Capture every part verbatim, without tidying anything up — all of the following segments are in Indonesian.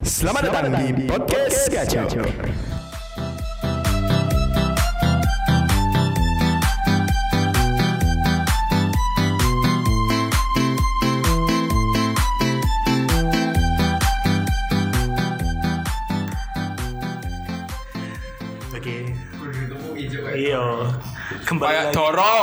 Selamat datang di Podcast Gacor. Oke. Iya. Kembali Kayak lagi. Doro.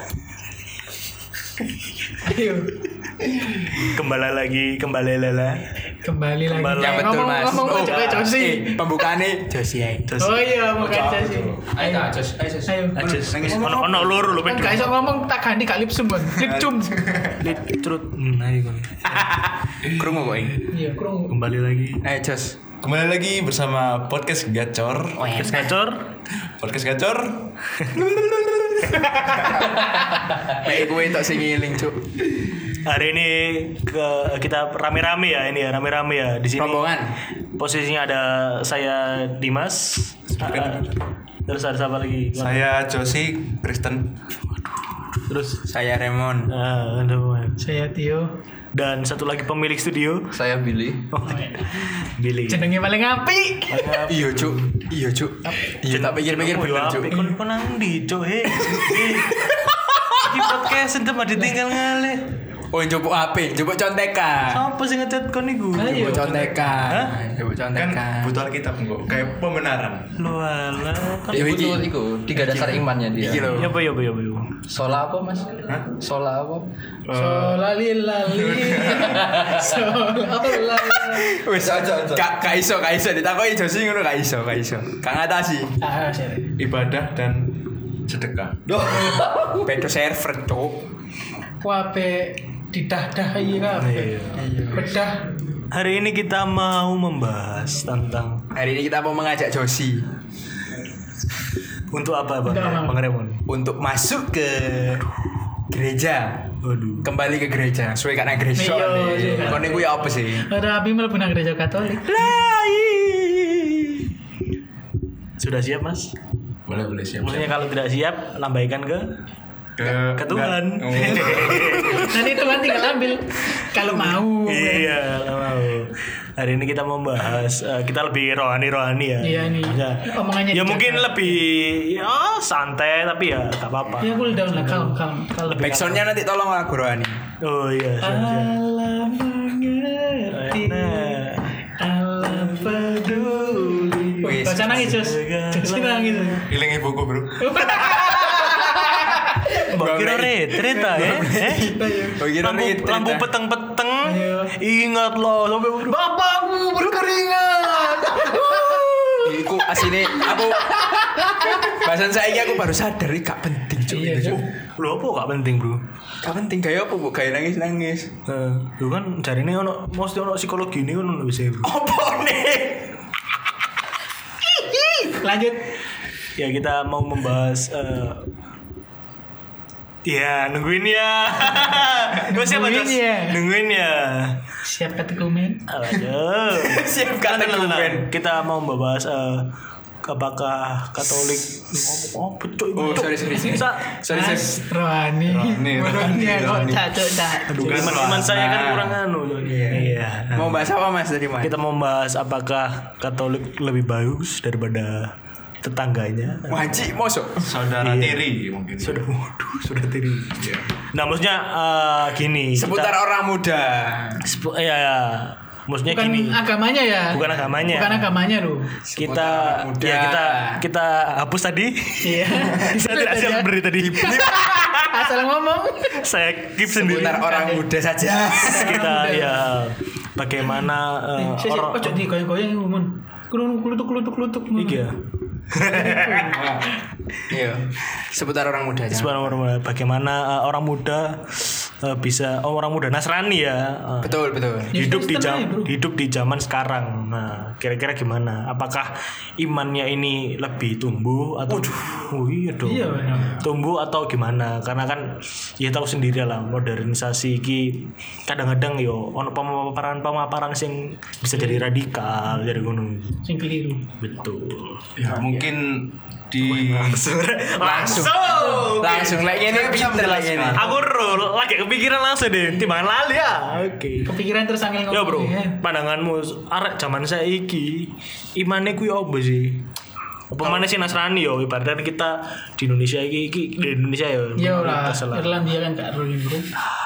Ayo Kembali lagi, kembali lala. kembali lagi. Kembali. Ya betul ngomong, mas. Ngomong Oh, aja kayak Josi. eh, pembukaannya Josi ya. Oh iya, bukan Josi. Ayo tak Jos. Ayo Jos. Ayo. Ajus. Ono ono loro lho Kan Pedro. gak iso ngomong tak ganti gak lipsum kan. Lipsum. Lit trut. Hmm, ayo kon. Krungu kok ini. Iya, kurang. Kembali lagi. Ayo Jos. Kembali lagi bersama Podcast Gacor. Podcast Gacor. Podcast Gacor. Nek kowe tok sing ngiling, Cuk. Hari ini ke kita rame-rame ya ini ya, rame-rame ya di sini. Rombongan. Posisinya ada saya Dimas. Ah, terus ada siapa lagi? Saya Josi Kristen. Terus Saya Remon. ah, ada Saya Tio. dan satu lagi pemilik studio. Saya Billy. Oh, Billy. Jenenge paling apik. Iya, Cuk. Iya, Cuk. Iya, tak pikir-pikir bener, Cuk. Kon kon nang ndi, Cuk? He. Iki podcast entah mah ditinggal ngale. Oh, njupuk H P, njupuk contekan. Apa sih ngechat kon niku? Ayo. Njupuk contekan. Njupuk Kan contekan. butuh Alkitab kok. Kayak pembenaran. Lu ala kan. Iya, iki. Betul itu tiga dasar imannya dia. Iki lho. Ya apa ya apa ya apa. ya? Sola apa mas? Sola apa? Solalilali. Solalala. Wis aja. Gak gak iso, gak iso ditakoki Josi ngono gak iso, gak iso. Gak ngatasi. Ah, sih. Ibadah dan sedekah. Beda server, Cuk. Wape didah-dah iya kabeh. Bedah. Hari ini kita mau membahas tentang Hari ini kita mau mengajak Josi untuk apa Bang? Untuk apa? Bang Remon. untuk masuk ke gereja. Waduh. Kembali ke gereja. Suwe karena gereja. Iya, nih. iya. Kon niku ya apa sih? Ada api mlebu nang gereja Katolik. Sudah siap, Mas? Boleh boleh siap. Maksudnya kalau tidak siap, lambaikan ke Ke, ke Tuhan. Oh. Nanti Tuhan tinggal ambil kalau mau. Iya, mau. Hari ini kita mau bahas eh, kita lebih rohani-rohani ya. Iya nih. Ya, Omongannya ya dijaga. mungkin lebih ya santai tapi ya gak apa-apa. Ya cool down lah, kalem kalem kalem. Backsoundnya nanti tolong lagu rohani. Oh iya, siap, siap. Allah mengerti, Nah. Allah peduli. Wis. Baca nangis Jus, Jus nangis. Iling ibuku, Bro. Mbak kira retret ta ya? Eh? Oh, kira Lampu, retret, lampu ah. peteng-peteng. Iya. Ingat loh sampai Bapakmu berkeringat. Iku asine aku bahasan saya aku baru sadar ini gak penting cuy. Iya, Cuk. Loh apa gak penting, Bro? Gak penting kayak apa bu? Kayak nangis nangis. Eh, lu kan cari ini ono mesti ono psikologi ini kan ono bisa. Bro. Apa nih? Lanjut. Ya kita mau membahas eh, ya nungguin ya. Gue siapa Nungguin Jos? ya. Nungguin ya. Siap kata komen. Aduh. Siap kata Tenang, tenang, komen. tenang. Kita mau membahas eh, apakah Katolik oh betul Oh sorry sorry sorry. Sa- Sorry sorry. Mas Rohani. Rohani, Rohani kok Rohani. cacok cak. Aduh, iman, iman saya kan kurang anu. Iya. Mau bahas apa mas dari mana? Kita mau membahas apakah Katolik lebih bagus daripada tetangganya. Wajib mosok. Saudara Iya. tiri mungkin. Sudah waduh, sudah tiri. Iya. Nah, maksudnya eh, gini. Seputar kita- orang muda. Sepu- ya, ya. Maksudnya Bukan gini. agamanya ya. Bukan agamanya. Bukan agamanya loh. Kita orang muda. ya kita kita hapus tadi. Iya. Saya tidak siap beri tadi. Asal ngomong. Saya keep sendiri. Seputar orang muda saja. Kita ya bagaimana eh, Sik, sik, orang ojo di goyang-goyang ngomong. Klutuk klutuk klutuk. Iya. Iya. Seputar orang muda. aja. Sebenarnya bagaimana eh, orang muda eh, bisa oh, orang muda Nasrani ya eh, Betul betul. Ya, hidup di Kristen jam aja, bro. hidup di zaman sekarang. Nah, kira-kira gimana? Apakah imannya ini lebih tumbuh atau oh iya dong. Iya, benar. Tumbuh atau gimana? Karena kan ya tahu sendiri lah modernisasi iki kadang-kadang yo ono pemaparan-pemaparan sing bisa jadi radikal jadi gunung. Sing keliru. Betul. Ya, mungkin di langsung langsung Langsung lek ngene pinter lek ngene. aku roll lagi kepikiran langsung deh timbangan lali ya oke Kepikiran terus angel ngomong. ya bro ya. pandanganmu arek zaman saiki imane kuwi opo sih apa mana sih Nasrani yo ibaratnya kita di Indonesia iki, iki di Indonesia ya Ya lah, mayoritas lah. Irlandia kan gak ruli bro.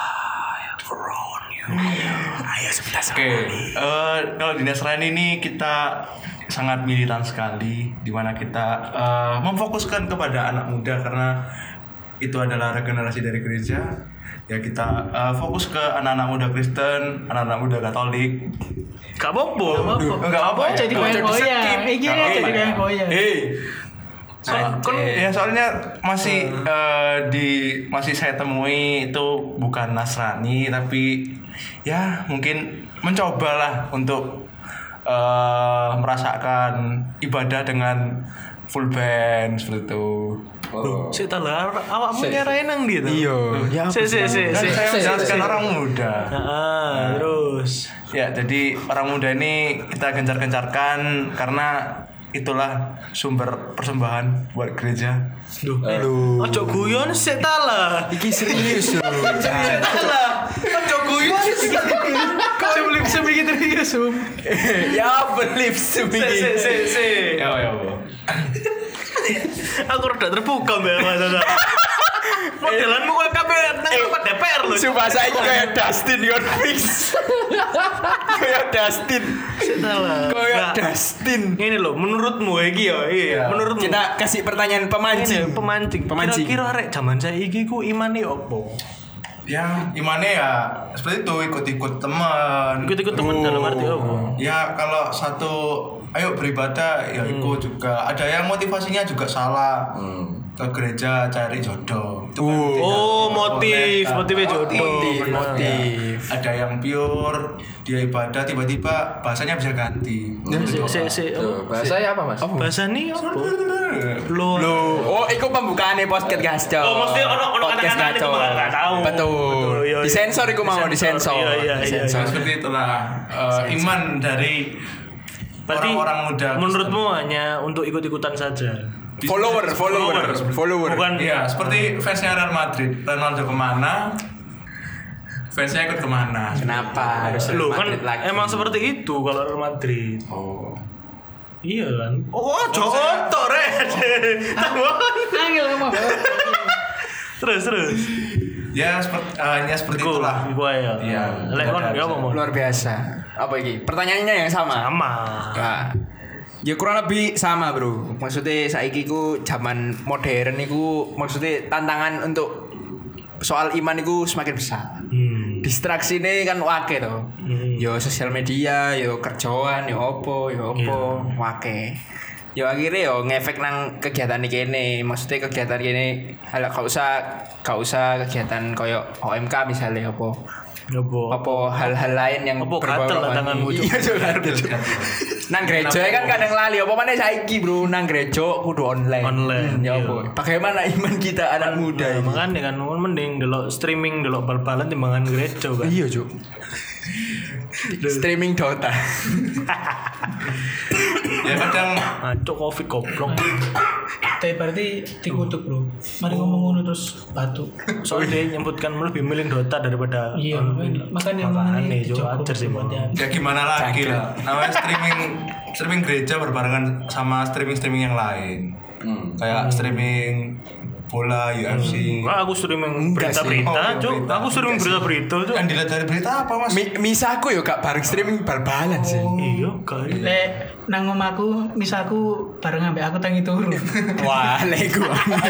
Ayo sebentar Oke, eh, kalau di Nasrani ini kita sangat militan sekali, di mana kita eh, memfokuskan kepada anak muda karena itu adalah regenerasi dari gereja. Ya kita eh, fokus ke anak-anak muda Kristen, anak-anak muda Katolik. gak apa-apa Enggak apa ya. Jadi Nggak goyang di-skip. goyang. Eh Nggak gini apa-apa jadi ya. goyang goyang. Hei. So, kan, ya soalnya masih eh, di masih saya temui itu bukan Nasrani tapi ya mungkin mencobalah untuk eh, merasakan ibadah dengan full band seperti itu. Oh. saya tahu lah awakmu nyarain nang dia tuh Iya. Ya. si si si Kan si saya si- menjelaskan si- orang muda. ah terus Ya, jadi orang muda ini kita gencar-gencarkan karena itulah sumber persembahan buat gereja. Duh, ojo guyon sik ta lah. Iki serius lho. Sik ta lah. Ojo guyon sik. Sebelum sebelum serius um. Ya believe Sik sebegini. sik sik sik. Ya, ya, Bu. Aku rada terbuka mbak Mas. Modelanmu kok kabeh nang tempat D P R lho. Sumpah saiki kayak Dustin yon fix. Kayak Dustin. Sik ta lah. Kayak Nah, Dustin. Ini loh, menurutmu iki ya, iya. Menurutmu Kita kasih pertanyaan pemancing. Ini, pemancing. Pemancing. Kira-kira arek zaman saiki ku imane opo? Ya, imannya ya seperti itu, ikut-ikut teman. Ikut-ikut temen dalam arti opo? Ya, kalau satu ayo beribadah ya ikut juga. Ada yang motivasinya juga salah. Ke gereja cari jodoh. Itu kan tidak Oh, boleh. motif, Nah, motifnya jodoh. Motif, benar. motif. Ada yang pure, dia ibadah tiba-tiba bahasanya bisa ganti. Sik sik sik. Tuh, bahasanya apa mas? Bahasa ini opo? Lo. Oh, iku pembukaannya podcast Gasco. Oh, mesti ono- ono Podcast anak-anak itu Gasco. mah nggak tahu. Betul. Betul, iya, iya. Disensor iku mau disensor. Iya, iya, iya, Disensor. Nah, seperti itulah eh, iman dari Berarti orang-orang muda. menurutmu hanya untuk ikut-ikutan saja. Follower, follower, follower. Bukan Iya, seperti fansnya Real Madrid. Ronaldo kemana, fansnya ikut kemana. Kenapa harus Loh Real kan Madrid lagi? emang seperti itu kalau Real Madrid. Oh. Iya kan. Oh, joto red. Angel ngomong. Terus terus. Ya seperti hanya seperti Iku, itulah. iku ya. Iya. Lek kon ya apa mau? Luar biasa. Apa iki? Pertanyaannya yang sama. Sama. Nah, ya kurang lebih sama bro. Maksudnya saiki ku zaman modern iku maksudnya tantangan untuk soal iman iku semakin besar. Hmm. Distraksi ini kan wake to. Hmm. Yo sosial media, yo kerjaan, yo opo, yo opo, wake. Yo akhirnya yo ngefek nang kegiatan iki kene. Maksudnya kegiatan kene hal gak usah gak usah kegiatan koyo O M K misalnya opo. Apa? Apa hal-hal lain yang Apa berbau gatel lah rohani. tanganmu, Cuk? Iya, Cuk, gatel, Cuk. Nang gereja kan kadang lali apa mana saiki bro nang gereja kudu online. Online, Hmm, ya iya. apa? Bagaimana iman kita anak muda Nah, ini? makanya kan mending delok streaming delok bal-balan timbangan gereja kan. Iya, Cuk. Streaming Dota. Ya kadang Ngaco covid goblok. Tapi berarti dikutuk bro. Mari ngomong ngono terus batu. Soalnya dia nyebutkan lebih milih Dota daripada Iya, online. makanya Makanya makanya Jo ajar sih Bang. ya gimana lagi lah. Namanya streaming streaming gereja berbarengan sama streaming-streaming yang lain. Kayak streaming bola, U F C. Wah, aku streaming Enggak sih. berita-berita, Oh, Cuk. berita. Aku streaming berita-berita, Cuk. Yang dilihat dari berita apa mas? Mi misaku yo gak bareng streaming bal-balan sih. Iya, kan. Lek nang omaku misalku bareng ambek aku tangi turu. Wah, lego.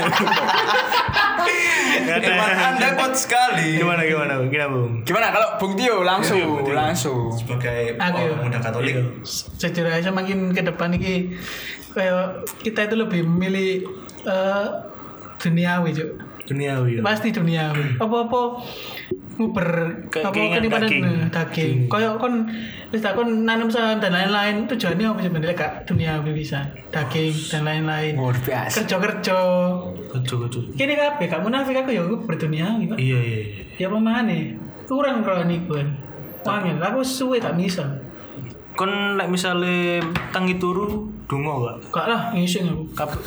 Iman anda kuat sekali. Gimana gimana, gimana Bung? Gimana kalau Bung Tio langsung, Iya, Bung Tio. langsung. Sebagai Aku ya. orang muda Katolik. Iya. Sejujur aja makin ke depan iki kayak kita itu lebih memilih eh, duniawi, Cuk. Duniawi. ya. Pasti duniawi. Apa-apa nguber Ke- apa keinginan kenipanan daging. daging. daging. Kayak kon wis tak kon nanam saham dan lain-lain tujuannya apa sebenarnya Kak? Duniawi bisa. Daging dan lain-lain. Luar biasa. Kerja-kerja. Kecuk kecuk. Kini kabeh gak munafik aku ya aku berduniawi, Pak. Iya iya. iya. Ya pemane. Kurang roh niku kan. Wangil, aku suwe tak bisa. kon lek misale tangi turu donga gak? Gak lah, ngising aku. Kap-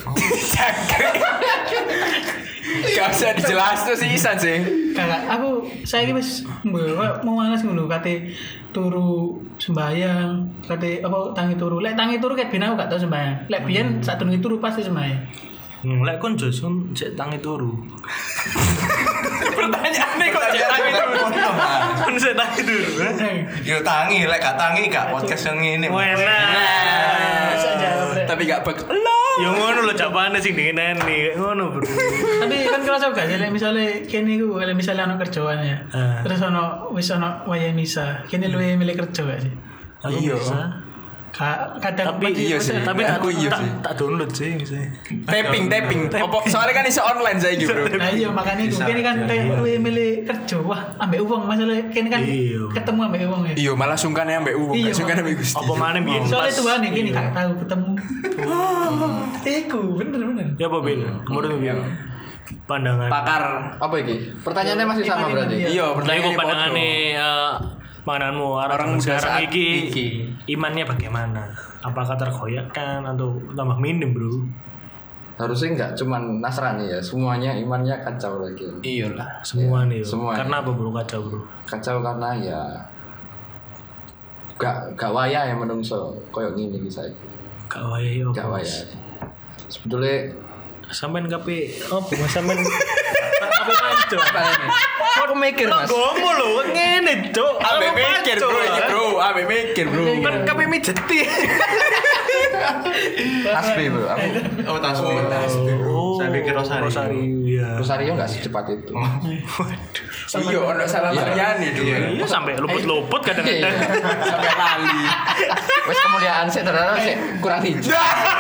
Gak usah dijelas tuh sih Isan sih. Kakak, aku saya ini wis mbak mau malas ngono kate turu sembayang, kate apa tangi turu. Lek tangi turu ket ben aku gak tau sembayang. Lek biyen sak durunge turu pasti sembayang. Hmm, lek kon Josun cek tangi turu. Pertanyaannya kok cek tangi turu. Kon cek tangi turu. Yo tangi, lek gak tangi gak podcast yang ini. Wena. Tapi gak bek. Ya ngono lho japane sing dingin kayak ngono, Bro. Tapi kan kerasa gak sih lek misale kene iku lek misale ana kerjaan ya. Ah. Terus ana wis ana wayahe misa. Kene luwe milih kerja gak sih? Aku Iya. bisa. Ka- kadang Tapi iya sih. Tapi tak Aku iya tak- sih. tak download sih misalnya. Tapping, tapping. Opo, soalnya kan iso online saya gitu, Bro. Nah iya makanya itu kene kan kayak luwe milih kerja. Wah, ambek uang masalah kene kan Iya. ketemu ambek uang ya. Iya, malah sungkan ya ambek uang, Iya, gak sungkan ambek Gusti. Apa mana biyen Soalnya pas. Tuhan ya kene gak tahu ketemu. Iku bener-bener. Ya apa Bil? Menurut Bil? Pandangan. Pakar. Apa iki? Pertanyaannya masih sama Iman, berarti. iman, Iya, Nah, pertanyaan iku pandangane eh pandanganmu orang, Orang zaman muda sekarang saat iki, iki. imannya bagaimana? Apakah tergoyahkan atau tambah minim, Bro? Harusnya enggak cuman Nasrani ya, semuanya imannya kacau lagi. Iyalah. Semua nih. semuanya. Karena apa, Bro? Kacau, Bro. Kacau karena ya gak gak waya ya menungso koyo ngene iki saiki. Gak wayahe opo. Gak waya. Sebetulnya Sampeyan kape opo sampeyan apa panco? aku mikir Mas. Gomo lho, ngene, Cuk. Abe Apa mikir, panco, Bro, iki, ah? Bro. Abe mikir, Bro. Kan kape mijeti. Tasbih bro, aku Oh, tasbih. Oh, Saya pikir Rosario. Rosario, ya. Rosario nggak secepat itu. Iya, ono salah Mariani dulu. Iya sampai luput-luput kadang-kadang. Sampai lali. Wes kemuliaan sih ternyata sih kurang hijau.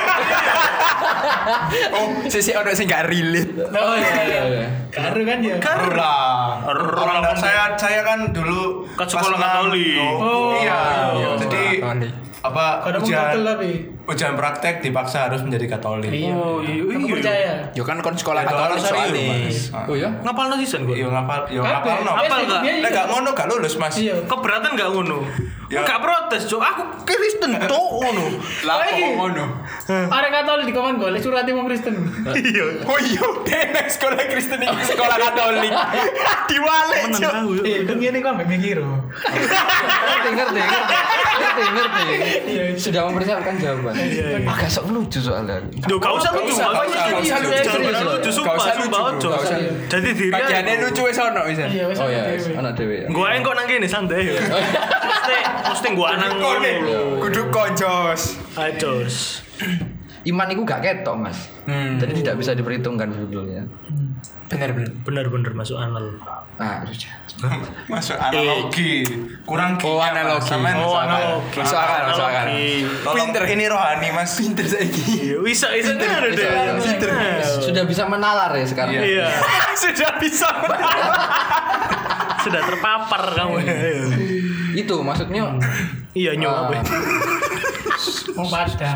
Oh, sisi ono sing gak relate. Oh iya iya. Karu kan ya. Karu lah. Karu. Orang saya saya kan dulu Kan pas sekolah enam- Katolik. Oh, iya. Iya, Jadi sekolah Katolik. apa Kadang ujian mengkatel tapi. ujian praktek dipaksa harus menjadi Katolik. Iya. Oh, iya, Aku iya. percaya. Yo kan kon sekolah Ya, Katolik Rosario, soalnya. Mas. Oh ya? Ngapal no season Yo gue. ngapal, yo Kabeh. ngapal no. Apal gak? Iya, iya. Lek gak ngono gak lulus, Mas. Iya. Keberatan gak ngono? Ya. Gak protes, Cuk. Aku Kristen, Cuk, ngono. Lah Oh, kok iki. ngono. Ada Katolik di komen golek surat wong Kristen. Iya. Oh iya, dene sekolah Kristen iki sekolah Katolik. Diwale, Menang Cuk. tahu. Eh, kan ngene kok ambek mikir. Ngerti ngerti ngerti ngerti ngerti. Iya. Sudah mempersiapkan jawaban. Agak sok lucu soalnya. Duh, gak usah lucu. usah, Gak gak usah, usah gak usah lucu. lucu. Gak usah lucu, Gak sumpah, usah sumpah, lucu, ojo. gak usah. Jadi diri Bagiannya lucu wis ono bisa. Iya, wis Oh ya, dewe. anak dewe ya. Gue engkau nang kene santai. Mesti mesti gue nang ngono lho. Kudu kojos. Ajos. Iman itu gak ketok mas. Hmm. Jadi tidak bisa diperhitungkan sebetulnya. Bener bener. Bener-bener masuk anal. Nah, Masuk analogi. Kurang Oh, gini, analogi. Mas. Sampean Oh, salah. analogi. Masuk akal, masuk akal. Analogi. Tolong, Pinter. ini rohani, Mas. Pinter saiki. Iya, bisa bisa ada deh. Pinter. Sudah bisa menalar ya sekarang. Iya. Sudah bisa. Sudah terpapar kamu. Itu maksudnya Iya nyo apa? Mau padang.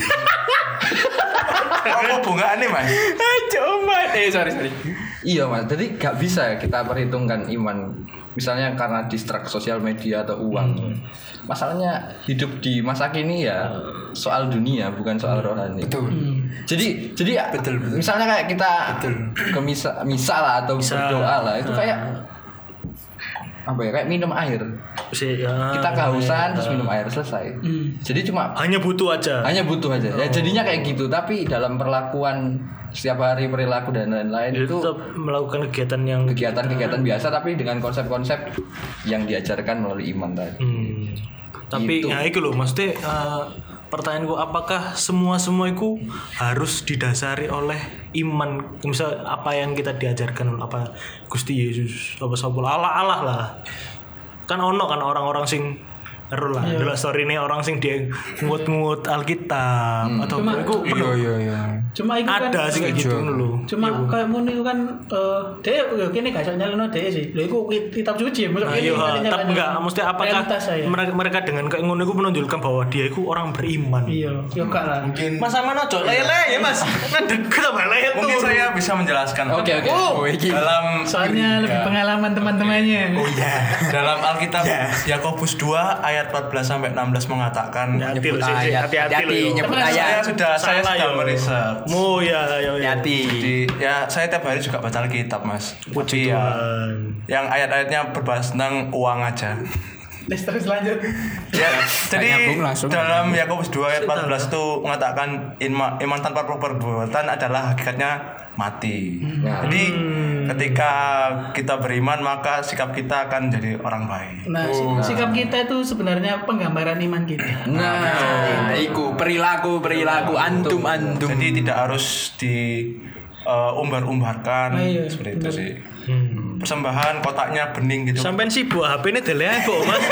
Apa bunganya, Mas? Coba. Eh sorry sorry. iya mas. Jadi gak bisa kita perhitungkan iman. Misalnya karena distrak sosial media atau uang. Masalahnya hidup di masa kini ya soal dunia bukan soal rohani. Betul. Jadi jadi Betul, betul. misalnya kayak kita Betul. ke misa, misa lah atau Misa. berdoa lah itu Ah. kayak apa ya kayak minum air. Si, ya, Kita kehausan terus minum air selesai. Jadi cuma hanya butuh aja. hanya butuh aja. Ya jadinya kayak gitu tapi dalam perlakuan setiap hari perilaku dan lain-lain Itu itu tetap melakukan kegiatan yang kegiatan-kegiatan biasa tapi dengan konsep-konsep yang diajarkan melalui iman tadi. Hmm. Tapi Gitu. ya itu loh, maksudnya eh, pertanyaanku apakah semua semua itu harus didasari oleh iman, misal apa yang kita diajarkan apa Gusti Yesus apa sapa Allah Allah lah. Kan ono kan orang-orang sing ero lah, delok story ini orang sing dia ngut-ngut Alkitab atau Cuma- iku Iya iya iya. Cuma itu kan ada sih kayak gitu lho. Cuma kayak ngono iku kan eh dhek yo kene gak iso nyalano dhek sih. Lho iku kitab suci masuk Nah, kene. iya, kene tapi nyalano enggak, mesti apakah realitas saya. mereka, mereka dengan kayak ngono itu menunjukkan bahwa dia itu orang beriman. Iya, yo gak lah. Mungkin Mas sama nojo lele ya mas, ngedeket apa lele tuh. mungkin saya bisa menjelaskan. Oke oke. Oh iki. Dalam Soalnya lebih pengalaman teman-temannya. Oh iya. Dalam Alkitab Yakobus dua ayat ayat empat belas sampai enam belas mengatakan Hati-hati Nyebut loh, sih, sih. ayat. Hati-hati loh. Hati-hati, yo. nyebut saya ayat. sudah saya Salah, sudah yo. meresearch. Oh ya ya ya. Hati. Jadi ya saya tiap hari juga baca Alkitab mas. Puji Tapi ya, Tuhan. yang ayat-ayatnya berbahas tentang uang aja. Les terus lanjut. Ya, jadi nyambung langsung. dalam Yakobus dua ayat empat belas itu mengatakan iman, iman tanpa perbuatan adalah hakikatnya mati. Nah. Jadi ketika kita beriman maka sikap kita akan jadi orang baik. Nah, si- sikap kita itu sebenarnya penggambaran iman kita. Nah, iku perilaku perilaku antum antum. Jadi tidak harus di uh, umbar-umbarkan Nah, iya, seperti itu benar. sih. Persembahan kotaknya bening gitu. Sampai si buah H P ini deleh kok mas.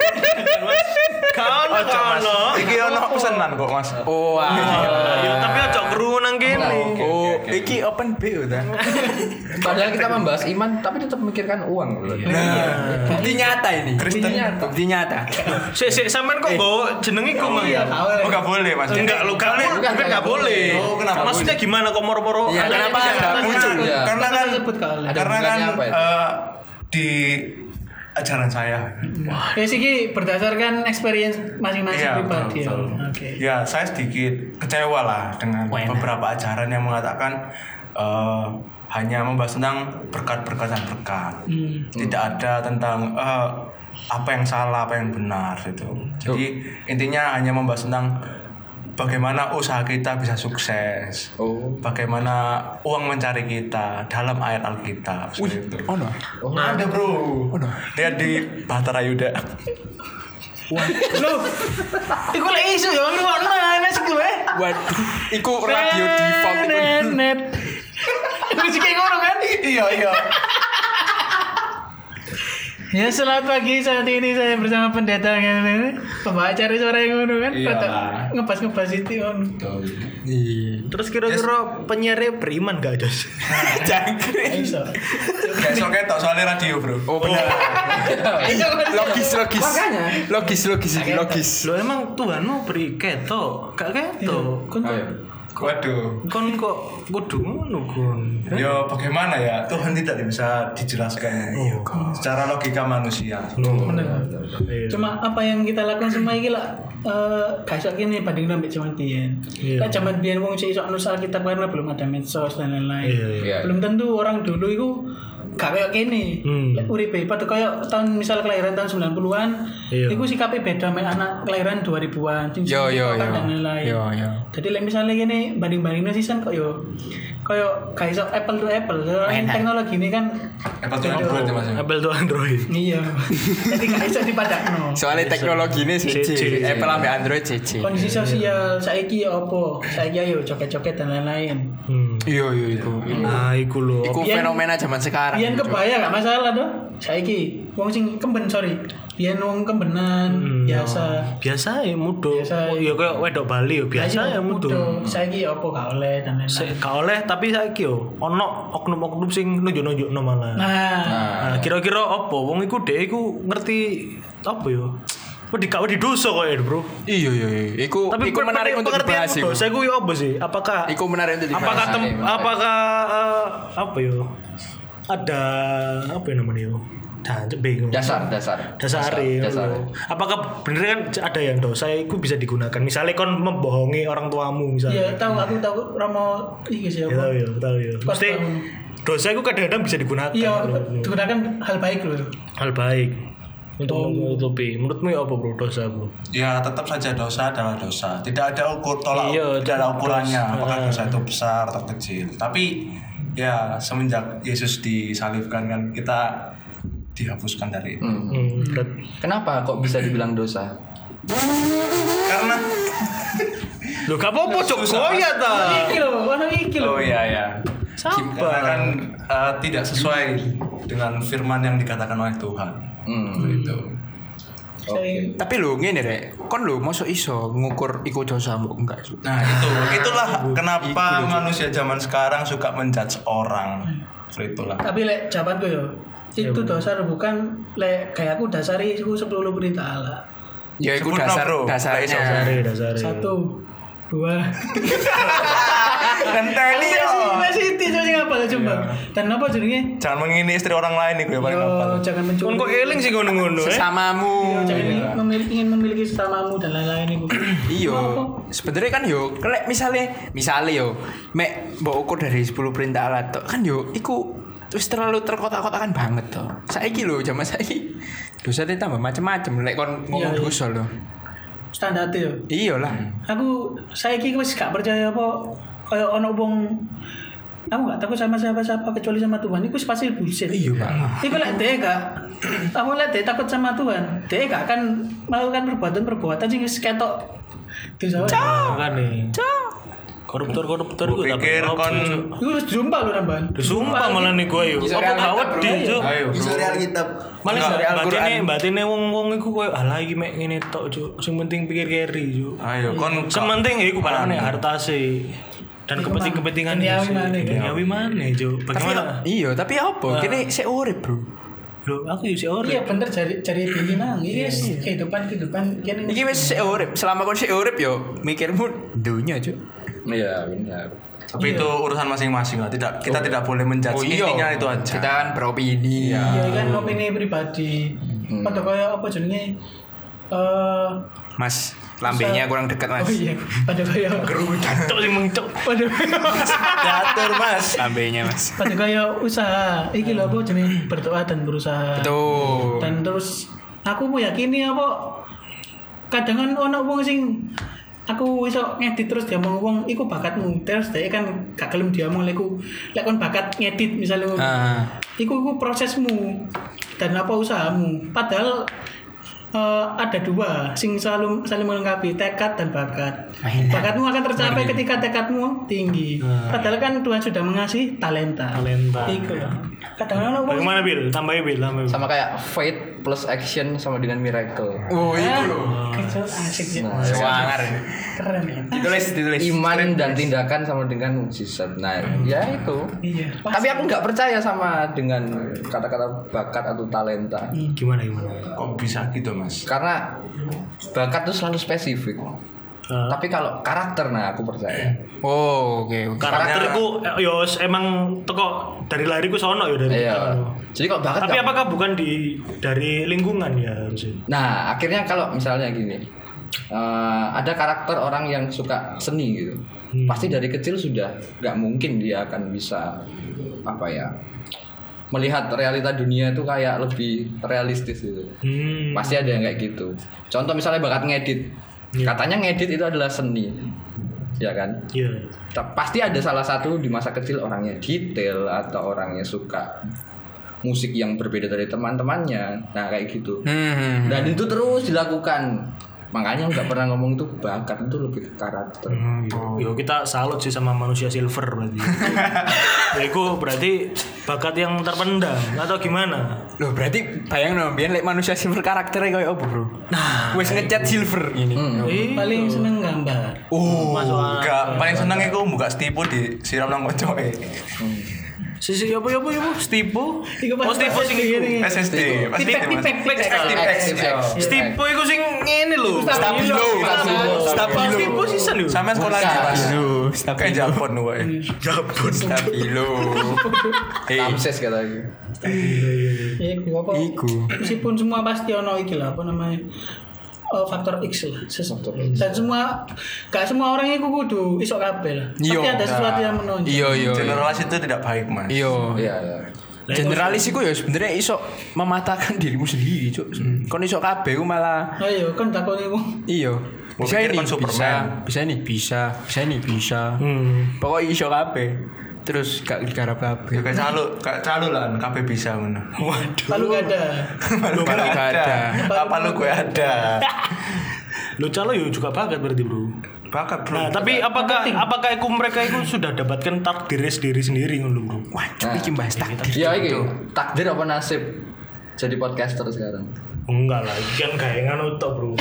Kau Ojo, Mas. no. Iki ono pesanan kok mas. Oh, ah. Ya, tapi ojo keru nang kene. Oh, iki open B udah. Padahal kita membahas iman tapi tetap memikirkan uang. Nah, bukti nyata ini. Kristen. Bukti nyata. Sik sik sampean kok bawa jeneng iku mang. Iya, tahu. Oh nggak boleh mas. Enggak lo kamu Bukan, kan nggak enggak boleh. Oh, kenapa Maksudnya gimana kok moro-moro? Iya, ada kenapa yang nggak tidak muncul? muncul? Iya. Karena kan sebut kalau Ada karena kan hubungannya apa itu? eh, di ajaran saya. ya sih Ki, berdasarkan experience masing-masing Iya, pribadi. betul, ya. betul. Oke. Ya saya sedikit kecewa lah dengan Wah, enak. beberapa ajaran yang mengatakan eh, hanya membahas tentang berkat-berkat dan berkat. Hmm. Tidak ada tentang eh, apa yang salah, apa yang benar gitu. Jadi intinya hanya membahas tentang bagaimana usaha kita bisa sukses. Oh. Bagaimana uang mencari kita dalam ayat Alkitab. seperti itu. Oh no. Ada bro. Lihat di Bahtera Yuda. Loh, iku lek isu ya ngrungokno ana sik kowe. Waduh, iku radio default iku. Net net. Wis kayak ngono kan? Iya iya. Ya selamat pagi, saat ini saya bersama pendeta yang pembawa cari suara yang ngono kan? Iya. Rada ngepas-ngepas itu kan. Terus kira-kira penyiarnya beriman gak Jos? Jangkrik. Iso. Gak sok ketok soalnya radio bro. Oh benar. Logis logis. Makanya. Logis logis iki logis. Lo emang Tuhanmu beri ketok, gak ketok. Kon Ayo. Waduh. Kon kok kudu ngono kon. Ya bagaimana ya Tuhan tidak bisa dijelaskan secara logika manusia. bener. Iya. Cuma apa yang kita lakukan semua iki lah eh gak iso kene banding ambek zaman biyen. Iya. Lah zaman biyen wong sik iso nulis Alkitab karena belum ada medsos dan lain-lain. Iya, iya. Belum tentu orang dulu itu gak kayak gini. Hmm. Lek uripe padha kayak tahun misal kelahiran tahun sembilan puluhan, Iya. iku sikape beda mek anak kelahiran dua ribuan. sing Yo, yo, TikTokan yo. dan lain-lain. Yo, yo. Jadi lek misalnya gini banding-bandingnya season kok yo kayak gak iso apple to apple. Soalnya Enak. teknologi ini kan Apa tuh Android ya mas? Apple tuh Android. iya. Jadi gak iso dipadakno. Soalnya teknologi ini C C. C C. Apple ambil Android C C. Kondisi sosial saiki ya apa? Saiki ayo joget-joget dan lain-lain. Hmm. Iya iya iku. Nah, iku lho. Iku Biyen- fenomena zaman sekarang. Biyen kebaya gak masalah doh. Saiki wong sing kemben sorry. Biyen wong kembenan biasa. Biasa ya mudo. Biasa. Oh, ya kayak wedok Bali ya biasa ya mudo. Saiki ya apa gak oleh dan lain-lain. Se- Gak oleh tapi saiki yo ono oknum-oknum sing nunjuk-nunjukno malah. Nah, Nah, kira-kira apa wong iku dhek iku ngerti apa yo? Wedi gak wedi dosa kok ya, Bro. Iya iya iya. Iku Tapi iku menarik untuk pengertian dibahas iku. dosa iku yo apa sih? Apakah Iku menarik untuk dibahas. apakah tem, Menarik, menarik. apakah eh, apa yo? Ada apa ya namanya yo? Jancuk bingung. Dasar, dasar. dasar dasar. apakah bener kan ada yang dosa itu bisa digunakan misalnya kon membohongi orang tuamu misalnya iya tahu aku tahu Romo iki sih ya apa. tahu ya tahu ya Pas mesti tahu. dosa itu kadang-kadang bisa digunakan Iya, digunakan hal baik loh. hal baik untuk Oh. menutupi menurutmu ya apa bro dosa bro Ya tetap saja dosa adalah dosa. Tidak ada ukur tolak Iya, tidak ada ukurannya. dosa. Apakah dosa itu besar atau kecil. Tapi ya semenjak Yesus disalibkan kan kita dihapuskan dari itu. Hmm. hmm, berat. Kenapa kok bisa dibilang dosa? Karena Loh gak apa-apa cok Susah, goya ta Iki loh, warna iki loh. oh iya ya. Karena sabar kan eh, tidak sesuai dengan firman yang dikatakan oleh Tuhan. Hmm. Itu. Saya- Tapi lho ngene rek, kon lho mosok iso ngukur iku dosamu enggak? Nah itu itulah kenapa manusia zaman sekarang suka menjudge orang. Seperti itulah. Tapi lek jawabanku yo, itu dosa bukan lek kayak aku dasari iku sepuluh perintah Allah. Ya iku Sebut no, dasar bro. dasarnya. dasari dasari Satu, dua, Ngenteni yo. Masih itu sing apa lah coba. Dan apa jenenge? Jangan mengini istri orang lain iku ya paling apa. Yo, jangan mencuri. Kon kok eling sih ngono-ngono eh. Sesamamu. Jangan memiliki ingin memiliki sesamamu dan lain-lain itu. Iya. Sebenarnya kan yo, lek misale misale yo, mek mbok ukur dari sepuluh perintah Allah tok kan yo iku terus terlalu terkotak-kotakan banget toh. Saiki lho zaman saiki dosane tambah macam-macam lek kon ngomong Iya, iya. dosa lho. Standar yo. Iyalah. Aku saiki wis gak percaya apa kaya ono wong aku gak takut sama siapa-siapa kecuali sama Tuhan. Iku pasti bullshit. Iya, Pak. Iku lek dhek gak aku lek dhek takut sama Tuhan, dhek gak akan melakukan perbuatan-perbuatan sing wis ketok dosa. Makane. Koruptor-koruptor iku Pikir kon Iku wis jumpa lho nambahan. disumpah malah nih gue yuk. Iso Apa real gak kitab, wedi bro. Cuk? ayo. Iso real kitab. Malah Enggak, batine Al-Quran. batine wong-wong iku koyo alah iki mek ngene tok Cuk. Sing penting pikir keri Cuk. Ayo kon Sing penting ya iku balane hartase. Dan kepenting-kepentingan Duniawi sih. maneh. Duniawi maneh Cuk. Tapi Bagaimana? iya, tapi apa? Kene sik urip, Bro. Lho aku yo sik ora. Iya bener cari cari pilih nang. Iki wis kehidupan-kehidupan kene. Iki wis sik urip. Selama kon sik urip yo mikirmu dunya, Cuk. Iya benar. tapi itu urusan masing-masing lah. Tidak kita tidak boleh menjudge intinya itu aja. Kita kan beropini. Iya kan opini pribadi. Pada kaya apa jenenge eh Mas, lambenya kurang dekat, Mas. oh iya, pada kaya Cuk sing mengcuk. pada Diatur Mas. Lambenya, Mas. pada kaya usaha. Iki lho apa jenenge berdoa dan berusaha. Betul. Dan terus aku meyakini apa kadang kan ono wong sing aku iso ngedit terus dia ngomong wong iku bakatmu terus dia kan gak gelem dia ngomong leku lek kon bakat ngedit misalnya ngono. Ah. Iku iku prosesmu dan apa usahamu padahal eh, ada dua sing selalu saling melengkapi tekad dan bakat. Bakatmu akan tercapai ketika tekadmu tinggi. Padahal kan Tuhan sudah mengasihi talenta. Talenta. Iku loh. Kadang-kadang wong Bagaimana Bil? Tambahin Bil, tambahin. Sama kayak faith plus action sama dengan miracle. Oh, itu loh. kecil asik ya. Nah, Sewangar. Keren ya. Ditulis, ditulis. Iman dan tindakan sama dengan mukjizat. Nah, ya itu. Iya. Tapi aku nggak percaya sama dengan kata-kata bakat atau talenta. Gimana gimana? Kok bisa gitu Mas? Karena bakat itu selalu spesifik. Ah. Tapi kalau karakter, nah aku percaya. Oh, oke. oke. Karakterku eh, yo emang teko dari lahirku sono yo dari Iya. kita. Jadi kok bakat Tapi nggak- apakah bukan di dari lingkungan ya harusnya? Nah, akhirnya kalau misalnya gini, eh, ada karakter orang yang suka seni gitu, Hmm. pasti dari kecil sudah nggak mungkin dia akan bisa apa ya melihat realita dunia itu kayak lebih realistis gitu. Hmm. Pasti ada yang kayak gitu. Contoh misalnya bakat ngedit, katanya ngedit itu adalah seni, ya kan? Iya. Ta- Pasti ada salah satu di masa kecil orangnya detail atau orangnya suka musik yang berbeda dari teman-temannya, nah kayak gitu. Hmm. Dan itu terus dilakukan. Makanya nggak pernah ngomong itu bakat, itu lebih ke karakter. Yo kita salut sih sama manusia silver berarti. Ya itu berarti bakat yang terpendam atau gimana? Loh, berarti bayang no, biar like manusia silver karakternya kayak apa, Bro? Nah, wes ngecat silver ini. Eh, Paling seneng gambar. Oh, masuk akal. Enggak, paling seneng iku buka stipu di siram nang kocoke. Sisi apa apa apa Stipo? Iku pas- Oh Stipo sing pas- iku. S S D, pasti Tipek, Mas. tipek, tipek. Active X. Stipo iku sing ngene lho. Stabilo. Stabilo. Stipo sisan yo. Sampai sekolah di Mas. Stabilo. Kayak Japon kowe. Jabon. Stabilo. Eh, Ramses katanya. Ya iku apa? Iku. Meskipun semua pasti ono iki lah apa namanya? Oh, faktor X lah. Ses- Dan semua gak semua orang itu kudu iso kabeh lah. Pasti Iya. ada sesuatu yang menonjol. Iya, iya. Generasi itu tidak baik, Mas. Iya. Iya, iya. Generalis iku ya sebenarnya iso mematahkan dirimu sendiri, Cuk. Kon iso kabeh ku malah Ayo kan takoni wong. iya. Gua Bisa pikir ini, kon bisa, Superman. bisa ini, bisa, bisa ini, bisa. Hmm. Pokoknya iso kabeh. Terus gak digarap kabeh. Ya kayak calo, kayak calo lah, kabeh bisa ngono. Lalu gak ada. Lu Kalau gak gak ada. ada. Apa lu gue ada? Lo calo yo juga bakat berarti, Bro. Bakat, Bro. Nah, tapi apakah apakah iku mereka itu sudah dapatkan takdir sendiri sendiri ngono, Bro? Wah, Cuk, iki bahas takdir. Ya ini takdir apa nasib jadi podcaster sekarang? Enggak lah, iki kan gawe ngono tok, Bro.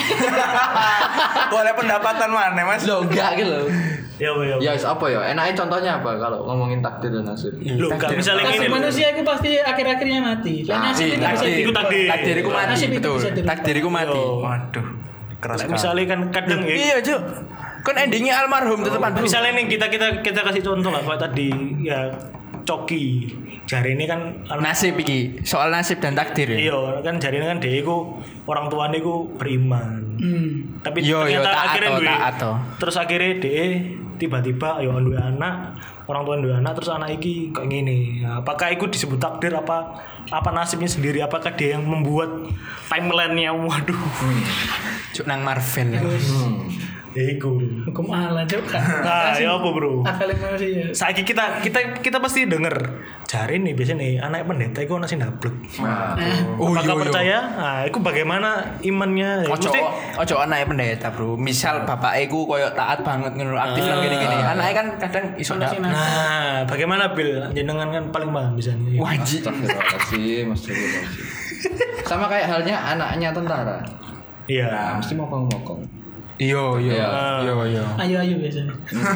Boleh pendapatan mana, Mas? Lo enggak gitu loh. Ya, ya. Ya wis apa ya? Enaknya contohnya apa kalau ngomongin takdir dan nasib? Lo enggak misalnya Nasib ngene lho. manusia itu pasti akhir-akhirnya mati. Lah Ah, nasib Iya, itu bisa takdir. Iku dirubah. takdir. Takdir iku mati, Nasib itu betul. bisa dirubah. Takdir iku mati. Yo. Waduh, keras Lah, sekali. misalnya kan kadang ya Iya, Cuk. Kan endingnya almarhum tetepan bro. Misalnya nih kita kita kita kasih contoh lah kayak tadi ya Coki. Jari ini kan Nasib iki, soal nasib dan takdir ya. Iya, kan jari ini kan dia iku orang tuanya iku beriman. Hmm. Tapi Yo, yo, ternyata taat akhirnya toh, duwe. taat toh. Terus akhirnya dia tiba-tiba yo duwe anak, orang tua duwe anak terus anak iki kayak gini. Nah, apakah itu disebut takdir apa apa nasibnya sendiri? Apakah dia yang membuat timeline-nya? Waduh. Hmm. Cuk nang Marvel. Hmm. Ya iku. Hukum Allah juga. Nah, ya apa, Bro? Akal manusia. Saiki kita kita kita pasti denger jari nih biasanya nih anak pendeta itu ana sing ndablek. Oh, Apakah iya, iya. percaya? Nah, itu bagaimana imannya? Ya, Ojo mesti- ojo anake pendeta, Bro. Misal bapake ku koyo taat banget ngono, aktif nang gini-gini. Anake kan kadang iso ndak. Nah, bagaimana Bil? Jenengan kan paling paham bisa nih. Wajib. Astagfirullahaladzim, astagfirullahaladzim. Sama kayak halnya anaknya tentara. Iya. Nah, mesti mokong-mokong. Iya, iya. Iya. Iya, iya. Ayu-ayu biasanya.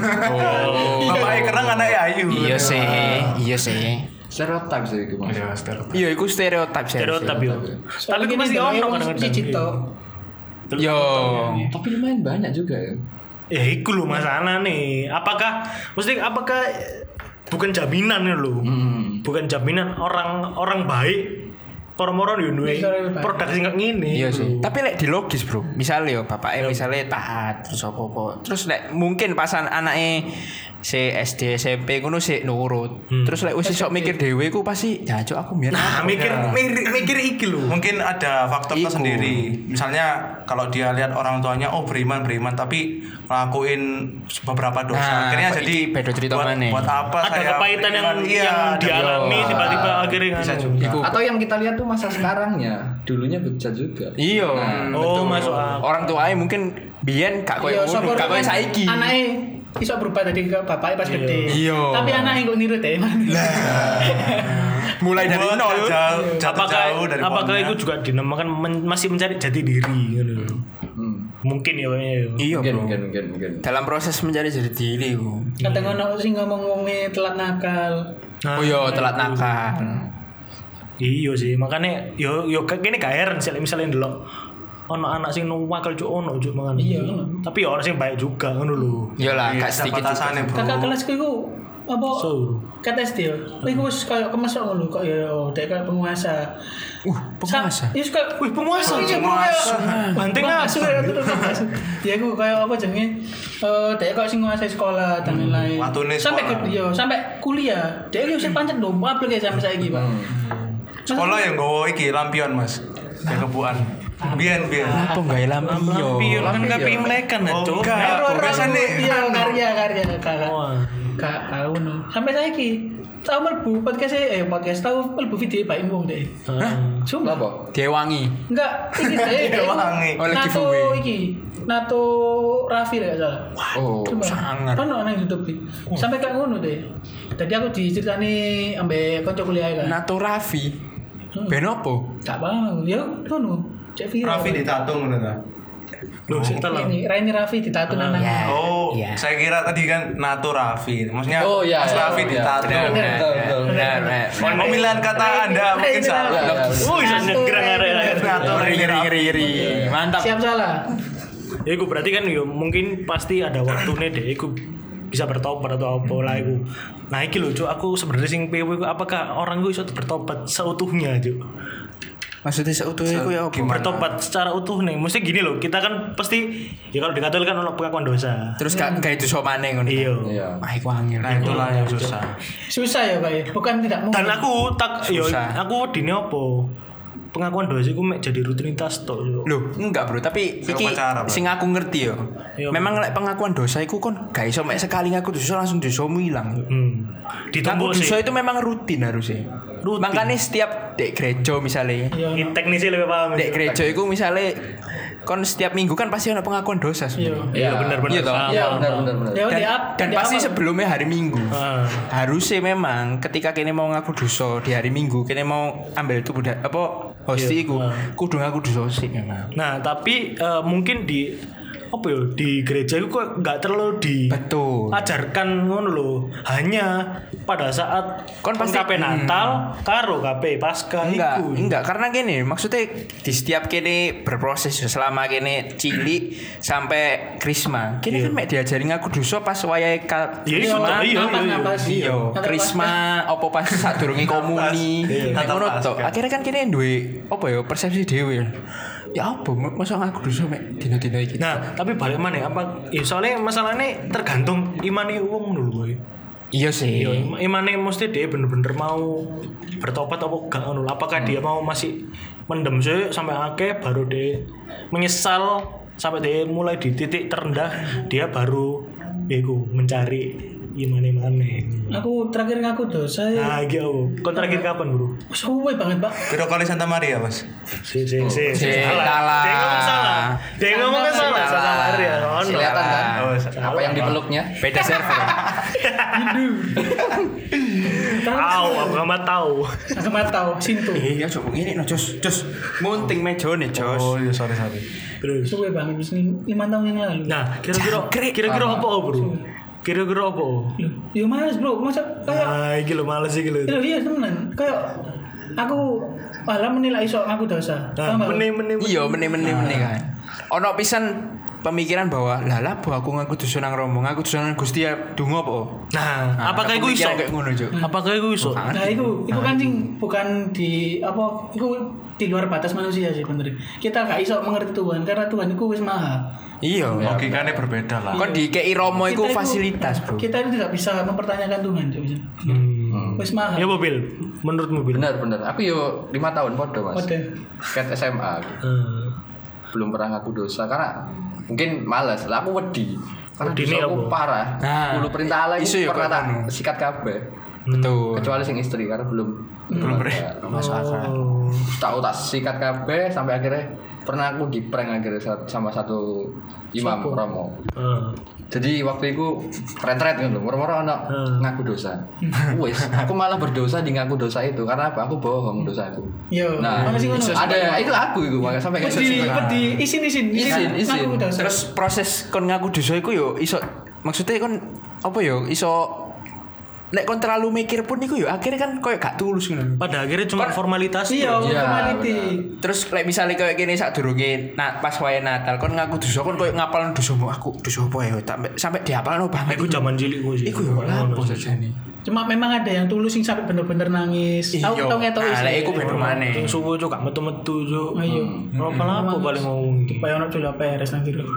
Oh. Bapaknya kerang anaknya ayu. Iya sih, iya sih. Stereotip sih itu mas. Iya, stereotip. Iya, iku stereotip sih. Stereotip yo. Soalnya Tapi itu pasti gini, ono yang kadang-kadang. si Cito. Yo. Tapi lumayan banyak juga ya. Ya iku lho masalah nih. Apakah mesti apakah bukan jaminan ya lho. Hmm. Bukan jaminan orang orang baik moro-moro yo duwe Bisa lebih baik. produk sing kayak ngene. Iya sih. Tapi lek di logis, Bro. Misalnya yo bapaknya misalnya taat terus apa-apa. Terus lek mungkin pasan anake si S D S M P ngono sik nurut. Terus lek wis iso mikir dhewe ku pasti ya cuk aku biyen. Nah, mikir mikir mikir iki lho. Mungkin ada faktor Iku. tersendiri. Misalnya kalau dia lihat orang tuanya oh beriman beriman tapi ngelakuin beberapa dosa. Nah, Akhirnya apa jadi iki beda cerita buat, maneh. buat apa Ada saya kepahitan yang beriman? Iya, yang ada- dialami Iya. tiba-tiba akhirnya bisa kan. juga. Iku. Atau yang kita lihat tuh masa sekarangnya, dulunya bejat juga. Iya. Nah, Oh, betul. masuk akal. Orang tuanya mungkin biyen gak koyo Iya, ngono, sapa gak koyo kan saiki. Anake iso berubah tadi ke bapaknya pas gede. Iya. Tapi anaknya kok niru deh. Mulai dari Buat nol. jauh, jatuh Apakah jauh dari apakah pohonnya. itu juga dinamakan men- masih mencari jati diri gitu. Hmm. Mungkin ya kayaknya ya. Iya, Mungkin, Bro. mungkin, mungkin, mungkin. Dalam proses mencari jati diri, Bro. Kadang ono sing ngomong wonge telat nakal. Nah, Oh iya, telat nakal. Iya sih, makanya yo yo kene gak heran sih misalnya ndelok ono anak sing nuwakal cuk ono cuk mangan. Iya, ono. Tapi yo ono sing baik juga ngono lho. Iyalah, Iya, gak ada sedikit juga. batasannya, Bro. Kakak kelasku iku apa? So. Kat S D yo. Iku wis koyo kemesok ngono kok ya dek koyo penguasa. Uh, penguasa. Iya suka. Wih, penguasa, Iya, penguasa. Banting penguasa. apa? Ya terus penguasa. Ya aku kayak apa jenenge? Eh dek kok sing nguasai sekolah dan lain-lain. watune Sampai sekolah. ke yo sampai kuliah. Dek yo sing pancet lho, apel kayak sampai saiki, Pak. Sekolah yang gowo iki lampion, Mas. Yang kebuan. Biyen biyen. Apa enggak lampion? Pion kan gak pimlekan Oh, cuk. enggak. Biasanya Iya, karya karya kakak. Wah. Kak tahu no. Sampai saiki tahu melbu podcast eh podcast tahu melbu video Pak Imbong deh. Sumpah. Apa? Dewangi. Enggak, iki deh. Wangi. Oleh Nato giveaway. iki. Nato Raffi lah salah. Oh, Coba. sangat. Ono nang YouTube iki. Sampai kayak ngono deh. Tadi aku diceritani ambek kanca kuliah kan. Nato Raffi. Ben opo? Gak paham. Ya ngono. Cek viral. Raffi ditatung ngono ta. Loh, sik telah. Ini Raini Raffi ditato nang. Ya. Oh, Iya. saya kira tadi kan Nato Raffi. Maksudnya Oh, iya, Mas iya, Raffi iya. ditatung. Benar, benar. Betul, betul. Benar, benar. Pemilihan kata Anda mungkin salah. Ya, ya, Oh, bisa nyegrang arek-arek. Nato Ngeri, Raffi. ngeri, ngeri, ngeri. Mantap. Siap salah. Ya iku berarti kan yo mungkin pasti ada waktunya deh iku bisa bertobat atau apa lah iku. Nah iki lho cuk aku sebenarnya sing P W iku apakah orang gue iso bertobat seutuhnya cuk. Maksudnya seutuhnya itu ya apa? Bertobat secara utuh nih. Mesti gini loh, kita kan pasti ya kalau di Katolik kan ono pengakuan dosa. Terus gak gak itu sok maneh ngono. Iya. Iya. Wah, iku angel. Nah, itulah yang susah. Susah ya Pak ya. Bukan tidak mungkin. Dan aku tak yo Susah. aku dine opo? Pengakuan dosa iku mek jadi rutinitas tok yo. Loh, enggak bro, tapi Saya iki upacara, Bro. sing aku ngerti yo. Iya, Memang lek pengakuan dosa iku kon gak iso mek sekali ngaku dosa langsung dosamu ilang. Hmm. Ngaku Ditumbuk dosa sih. itu memang rutin harusnya. Rutin. Makanya setiap dek gereja misalnya, Iya. Ini teknisnya lebih paham. dek gereja iku misalnya kon setiap minggu kan pasti ada pengakuan dosa sebenarnya. Iya benar-benar. Iya toh? Sama. Iya, benar, benar, benar. Ya Dan, di up dan di pasti awal. sebelumnya hari Minggu. Ah. Harusnya memang ketika kene mau ngaku dosa di hari Minggu, kene mau ambil tubuh da- apa hosti Iya, iku ah. kudu ngaku dosa sih memang. Nah, tapi eh, mungkin di apa ya di gereja itu kok nggak terlalu Betul. diajarkan ngono lho. Hanya pada saat Kon pasti- K P Natal karo K P Pasca Enggak, iku. enggak karena gini, maksudnya di setiap kene berproses selama kene cilik sampai krisma. Kene kan mek diajari ngaku dosa pas wayahe ka Iya, iya, krisma. iya, Napas, iya. napas. Iya, Napas. krisma apa pas sadurunge komuni. Nek ngono Napas, tok. kan. Akhirnya kan kene duwe apa ya persepsi dhewe. Ya apa masa ngaku dosa mek dina-dina iki. Nah, tapi balik mana ya? Apa ya soalnya masalahnya tergantung imane wong dulu boy. Iya sih. Iya, im- imane mesti dia bener-bener mau bertobat apa enggak ngono. Apakah dia mau masih mendem sih sampai akhir baru dia menyesal sampai dia mulai di titik terendah dia baru iku mencari imane mana. Aku terakhir ngaku dosa ya. Nah, gitu. Kau terakhir kapan, Bro? Suwe banget, Pak. Piro kali Santa Maria, Mas? Si si si. Si, salah. salah. Dia ngomong salah. Dia ngomong kan salah. Salah. Salah ya. Oh, no. Kelihatan kan? Oh, Apa yang dipeluknya? Beda server. Tahu, aku nggak tahu. Aku mah tahu Sintu. Iya, coba ngene no, Jos. Jos. Munting mejone, Jos. Oh iya, sorry sorry. Terus. Suwe banget wis lima tahun yang lalu. Nah, kira-kira Jangkrik. kira-kira apa, Bro? Kira-kira apa? Loh, ya males, Bro. Masa kayak Nah, iki lho males iki lho. Loh, iya temenan. Kayak aku malah menilai iso aku dosa. Nah, Paham, Pak? meni-meni. Iya, meneh-meneh kan. Ono pisan pemikiran bahwa lah lah bahwa aku ngaku dosa nang Romo, ngaku dosa nang Gusti ya donga apa? Nah, apakah iku iso? pemikiran kayak ngono, Cuk? Apakah iku iso? Nah, itu itu kan sing bukan di apa itu di luar batas manusia sih bener. Kita gak iso mengerti Tuhan karena Tuhan itu wis maha. Iya. Logikanya berbeda lah. Kon dikei Romo iku Kita itu- fasilitas, Bro. Kita itu tidak bisa mempertanyakan Tuhan, Cuk. Hmm. Wis maha. Ya mobil. Menurutmu Bil? Benar benar. Aku yo lima tahun podo mas. Waduh. Ket S M A. Hmm. Belum pernah ngaku dosa karena mungkin malas. Lah aku wedi. Karena Wedi dosa ini aku apa? parah. Nah, sepuluh perintah Allah isu itu ya pernah kok tak anu. sikat kabeh. Betul. Kecuali sing istri karena belum Belum ber. Masuk akal. Oh. tahu tak sikat kabeh sampai akhirnya pernah aku di prank akhirnya sa- sama satu imam Siapa? Romo. Hmm. Jadi waktu itu keren-keren gitu, moro-moro anak Hmm. ngaku dosa. Wes, aku malah berdosa di ngaku dosa itu karena apa? Aku bohong dosaku. Yo, Nah, mana sih ngono? ada itu aku itu makanya sampai kayak Pedi, gitu. pedi, isin isin, Isin, isin. Ngaku dosa. Terus proses kon ngaku dosa iku yo iso maksudnya kon apa yo iso lek kon terlalu mikir pun iku yo akhirnya kan koyo gak tulus ngono. Pada akhirnya cuma formalitas. Iya, Iya, formality. Terus lek misalnya kayak gini saat durunge nah, pas wayahe Natal kon ngaku dosa kon koyo ngapalno dosamu aku dosa apa ya sampai sampai dihafalno banget. Iku zaman cilik gue sih. Iku yo lapo sajane. Cuma memang ada yang tulus sing sampai bener-bener nangis. Tahu Iya. tahu ngetok Nah, lek iku beda maneh. Yang subuh juga metu-metu jo. Ayo. Apa apa paling ngomong. Supaya ono cula peres nang kiri.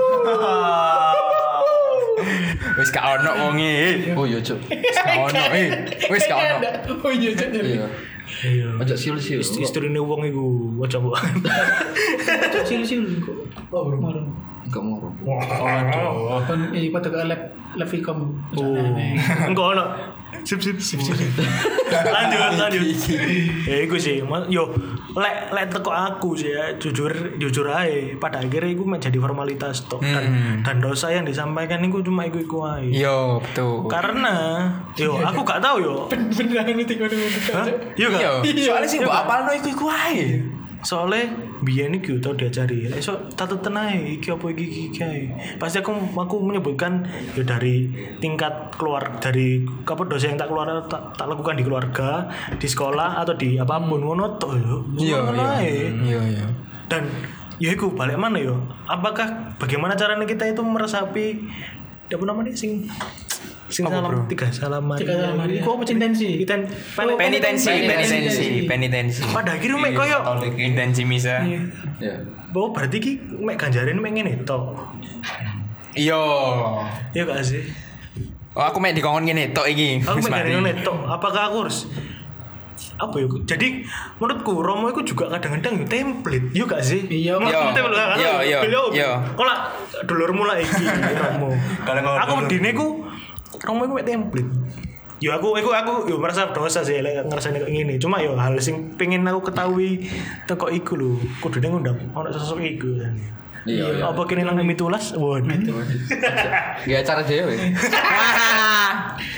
Wis gak ono wonge. Oh iya, Cuk. Wis gak ono eh. Wis gak ono. Oh iya, Cuk. Iya. Iya. Ojo siul-siul. Istrine wong iku aja mbok. Silu-silu kok. Oh, bro. Enggak mau. Oh, Kon iki pada ke lab lab Vicom. Oh. Enggak ono. Sip sip sip sip. Lanjut lanjut. Ya iku sih. Mas- Yo lek lek teko aku sih ya jujur jujur aja pada akhirnya iku menjadi formalitas tok dan dan dosa yang disampaikan iku cuma iku iku aja. Yo, betul. Karena yo aku gak tahu yo. Beneran itu kono. Hah? Iya gak? Yo, soalnya sing mbok apalno iku iku ae. Soalnya biyen iki tau diajari. Esok tatut tenae iki apa iki iki iki ae. Pasti aku aku menyebutkan ya dari tingkat keluar dari apa dosa yang tak keluar tak, tak lakukan di keluarga, di sekolah atau di apapun ngono tok yo. Iya, Ngono iya. ae. Iya, iya. Dan ya iku balik mana yo? Apakah bagaimana caranya kita itu meresapi apa namanya sing sing Apa, salam bro? tiga salam Maria. Tiga salam Maria. Iku apa Intensi. Kita Oh, Penitensi, penitensi. penitensi, penitensi. pada akhirnya mek koyo Intensi misa. Ya. bahwa berarti ki mek ganjarin mek ngene tok. Iya. Iya gak sih? Oh, aku mek dikongkon ngene tok iki. Aku Wis mek mari. ngene tok. Apakah aku harus apa ya? Jadi menurutku Romo itu juga kadang-kadang yo template. Iya gak sih? Iya. Menurutku Iya. template lah. Iya, iya, iya. Kok lah dulur mulai iki Romo. Kalau ngomong Aku dulu. medine ku Romo iku mek template. Yo aku aku aku yo merasa dosa sih lek ngrasane kok ngene. Cuma yo hal sing pengen aku ketahui teko iku lho. Kudune ngundang ono sosok iku. Iya, iya. Apa kene nang mitulas? Waduh. Gak acara dewe.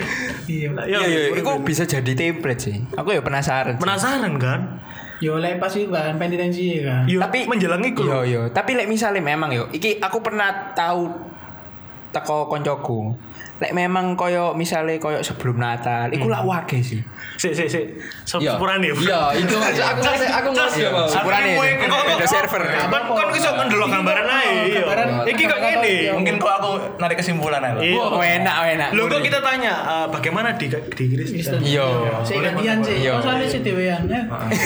Iya. Ya, Iya, iya, itu bisa jadi template sih. Aku ya penasaran. sih. penasaran kan? Yo lek pas itu kan penitensi kan. Yo, Tapi- menjelang iku Yo lho. yo, tapi lek misalnya memang yo, iki aku pernah tahu teko koncoku. Lek memang koyo misalnya koyo sebelum Natal, iku lak wage sih. Sik sik sik. Iya. Sepurane. Iya, itu aku ngerti aku ngerti apa. Sepurane Aku itu. kok- Beda kok- server. Kan kan iso ndelok gambaran ae. Iya. Gambaran. Iki kok ngene. Mungkin kok aku narik kesimpulan aja. Iya. Oh, enak, enak. Loh kok kita tanya eh, bagaimana di di Kristen? Iya. Saya gantian sih. Iya. Oh soalnya si dewean. Eh.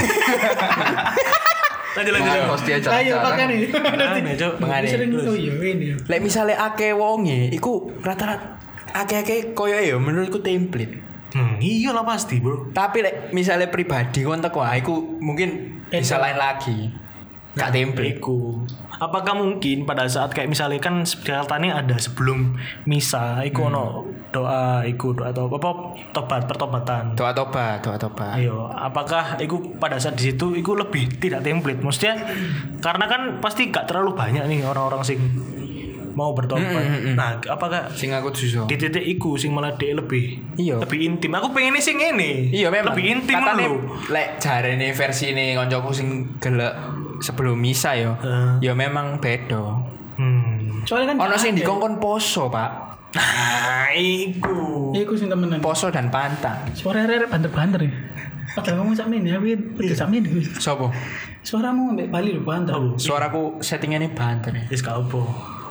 Lanjut lanjut. Nah, host dia Ayo makan nih. Mengane, Cuk. Mengane. Sering oh iya ini. Lek misalnya akeh wonge, iku rata-rata akeh-akeh koyo ya menurutku template. Hmm, iya lah pasti, Bro. Tapi lek misalnya pribadi kon teko ah, iku mungkin bisa lain lagi. Gak template. Iku. Apakah mungkin pada saat kayak misalnya kan katanya ada sebelum misa, iku ono doa, iku doa atau apa tobat pertobatan. Doa tobat, doa tobat. Ayo, apakah iku pada saat di situ iku lebih tidak template? Maksudnya karena kan pasti gak terlalu banyak nih orang-orang sing mau bertobat. Nah, apakah Sing aku susah. di titik iku sing malah dia lebih Iya. lebih intim. Aku pengennya sing ini. Iya memang. Lebih intim Katane, lho. lek jarene versi ini koncoku sing gelek sebelum misa yo. Heeh. Ya memang beda. Hmm. Soalnya kan Ono sing ada. dikongkon poso, Pak. Nah, iku. Iku sing temenan. Poso dan pantang. Suara rere banter-banter ya. Padahal ngomong sakmen ya, tapi udah sakmen gue. Sopo? Suaramu ambek Bali lho banter. Oh, Suaraku settingannya banter ya. wis gak apa.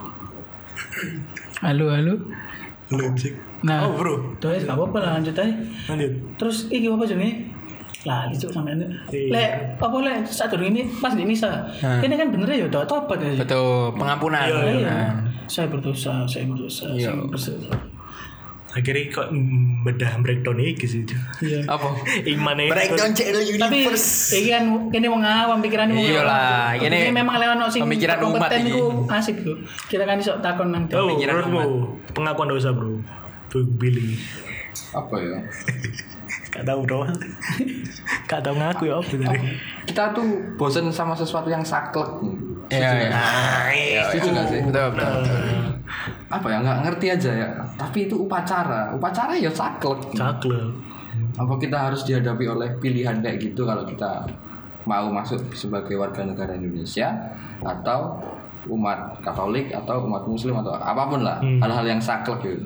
Halo halo. Belum sih. Nah, Oh, Bro. Tuh gak apa-apa lah lanjut aja. Lanjut. Terus iki apa jenenge? Lah, itu sampe ini. Iya. Lek apa lek saat ini pas di misa. Ini kan bener ya doa tobat ya. Betul, pengampunan. Iya, iya. Iya. Saya berdosa, saya berdosa, Iya. saya berdosa. Akhirnya kok mm, bedah breakdown iki sih. Iya. Apa? Imane. Breakdown C L Tapi Universe. iki kan kene wong awam pikirannya wong Iya awam. lah, kene Ini memang lewat ono sing pemikiran umat kompeten iki. iku asik iku. Kita kan iso takon nang Oh, Pemikiran menurutmu pengakuan dosa, Bro. Tuh Billy. Apa ya? Gak tahu, Bro. Gak tahu ngaku ya apa tadi. Kita tuh bosen sama sesuatu yang saklek. Iya, Setuju iya. nggak? Setuju nggak sih? Betul, betul. Apa ya, nggak ngerti aja ya. Tapi itu upacara. Upacara ya saklek. Cakle. Apa kita harus dihadapi oleh pilihan kayak gitu kalau kita mau masuk sebagai warga negara Indonesia atau umat Katolik atau umat Muslim atau apapun lah, Hmm. hal-hal yang saklek gitu.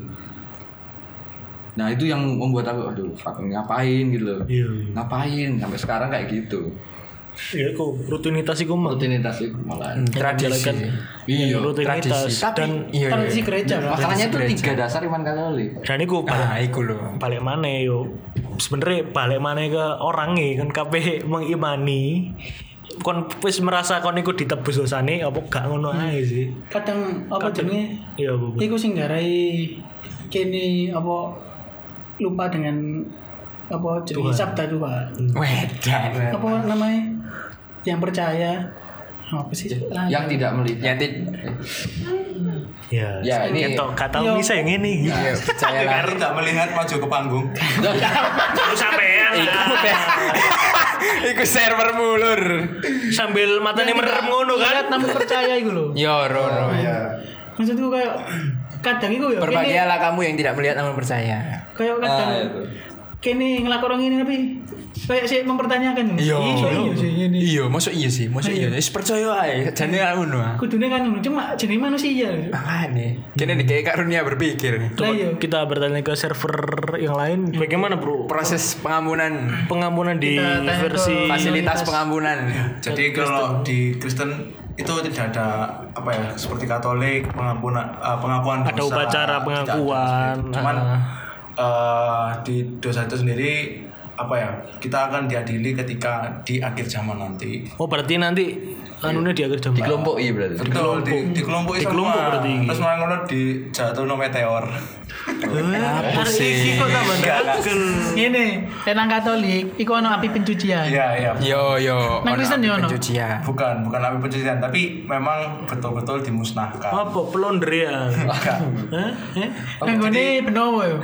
Nah itu yang membuat aku, aduh, fuck, ngapain gitu loh. Iya. Ngapain sampai sekarang kayak gitu. Iya, kok rutinitas iku mah. Rutinitas itu malah. Tradisi. Iya. Rutinitas Tradisi. Tapi dan iya, tradisi iya. gereja lah. Makanya itu Gereja. tiga dasar iman Katolik. dan iku balik, Ah, iku lho. balik mana yo. Sebenarnya balik mana ke orangnya kan kabeh mengimani. Kon wis merasa kon iku ditebus dosane apa gak ngono ae sih. Kadang apa jenenge? Iya, Bu. Iku sing garai kene apa lupa dengan apa jenenge Tuhan. sabda Tuhan. Wedan. Apa namanya? Yang percaya apa sih? Lali. Yang tidak melihat. Yang ti- Ya, Ya, ini- ketok gak tau Iya. bisa yang ini. Iya, percaya lah. Karena tidak melihat maju ke panggung. Terus sampean Iku Iku server mulur. sambil matanya merem ngono Lihat kan. namun percaya iku lho. Yo, Rono. Maksudku kayak kadang iku ya kene Berbahagialah kamu yang tidak melihat namun percaya. kayak kadang Ah, itu. kene ngelakon ini tapi kayak sih mempertanyakan. Iya. iya sih ini. Iya, masuk iya sih, masuk iya. Wis percaya ae, jane ngono. Kudune kan ngono, cuma jenis manusia. Makane, kene dikek karunia berpikir. Lah iya. Kita bertanya ke server yang lain, bagaimana bro Proses pengampunan, pengampunan di Kita tanya ke versi fasilitas pengampunan. Jadi kalau di Kristen itu tidak ada apa ya seperti Katolik pengampunan eh, pengakuan dosa. Ada upacara tidak ada pengakuan. seperti itu. Cuman Ah. eh, di dosa itu sendiri apa ya kita akan diadili ketika di akhir zaman nanti. Oh berarti nanti anunya di akhir jam Dikelompokkan berarti. Betul di di kelompok Dikelompok berarti. Terus malah ngono di jatuh no meteor. apa sih kok tambah dakel Ini, tenang Katolik, iku ono api pencucian. Iya iya. Yo yo. Nang ono Kristen api yo ono? pencucian. Bukan bukan api pencucian tapi memang betul-betul dimusnahkan. apa pelondrian Enggak. Hah? Eh? Nang gone Benowo yo.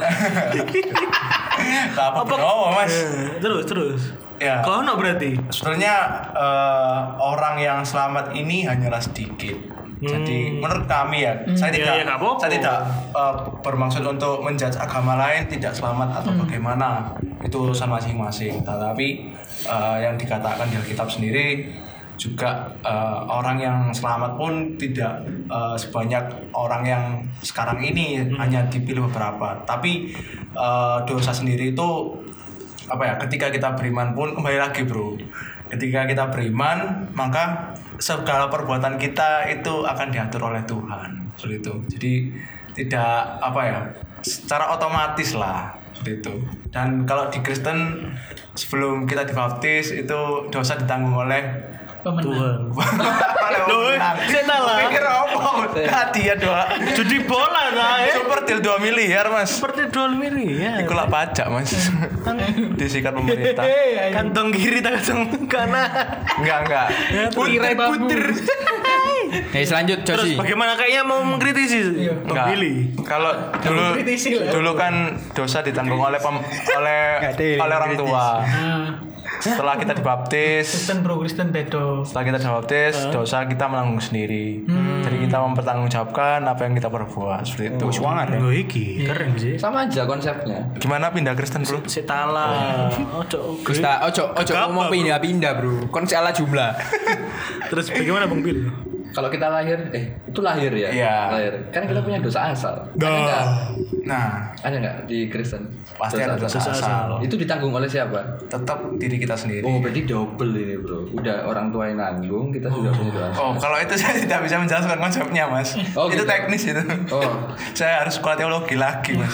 Enggak apa oh, Mas. Eh, terus terus Ya. kau no berarti Sebenarnya eh, orang yang selamat ini hanyalah sedikit. Jadi menurut kami ya, saya Ya, tidak ya, nggak apa-apa. saya tidak uh, bermaksud untuk menjudge agama lain tidak selamat atau bagaimana, itu urusan masing-masing. Tetapi uh, yang dikatakan di Alkitab sendiri juga uh, orang yang selamat pun tidak uh, sebanyak orang yang sekarang ini, hanya dipilih beberapa. Tapi uh, dosa sendiri itu apa ya? Ketika kita beriman pun kembali lagi bro. Ketika kita beriman, maka segala perbuatan kita itu akan diatur oleh Tuhan. Seperti itu. Jadi tidak apa ya, secara otomatis lah seperti itu. Dan kalau di Kristen sebelum kita dibaptis itu dosa ditanggung oleh Pemenang. Loh, saya salah. Pikir apa? Hadiah doa. Judi bola nah ya. Super deal dua miliar mas. Seperti dua miliar. Iku lah pajak mas. Disikat pemerintah. Kantong kiri kantong kanan. Enggak enggak. Puter puter. Eh selanjut Terus Josi. bagaimana kayaknya mau mengkritisi Bang Enggak. Billy? Kalau dulu Kritisi lah. dulu kan dosa ditanggung oleh pem, oleh oleh orang tua. Nah, Setelah kita dibaptis, Kristen bro, Kristen bedo. setelah kita dibaptis, dosa kita menanggung sendiri. Jadi kita mempertanggungjawabkan apa yang kita perbuat seperti itu. Gue iki keren sih. Sama aja konsepnya. Gimana pindah Kristen bro? Setala. Ojo. Gusta, ojo ojo Gagap, mau bro. pindah-pindah bro. Kon salah jumlah. Terus bagaimana Bang Bill? Kalau kita lahir, eh itu lahir ya? Iya. Lahir. Kan kita punya dosa asal. Ada Dah. nggak? Nah, Ada nggak di Kristen? pasti ada dosa Dosa asal. Itu ditanggung oleh siapa? Tetap diri kita sendiri. Oh, berarti double ini bro. Udah orang tua yang nanggung, kita sudah punya dosa. Oh, kalau itu saya tidak bisa menjelaskan konsepnya, Mas. Oh, itu gitu. teknis itu. Oh. Saya harus sekolah teologi lagi, Mas.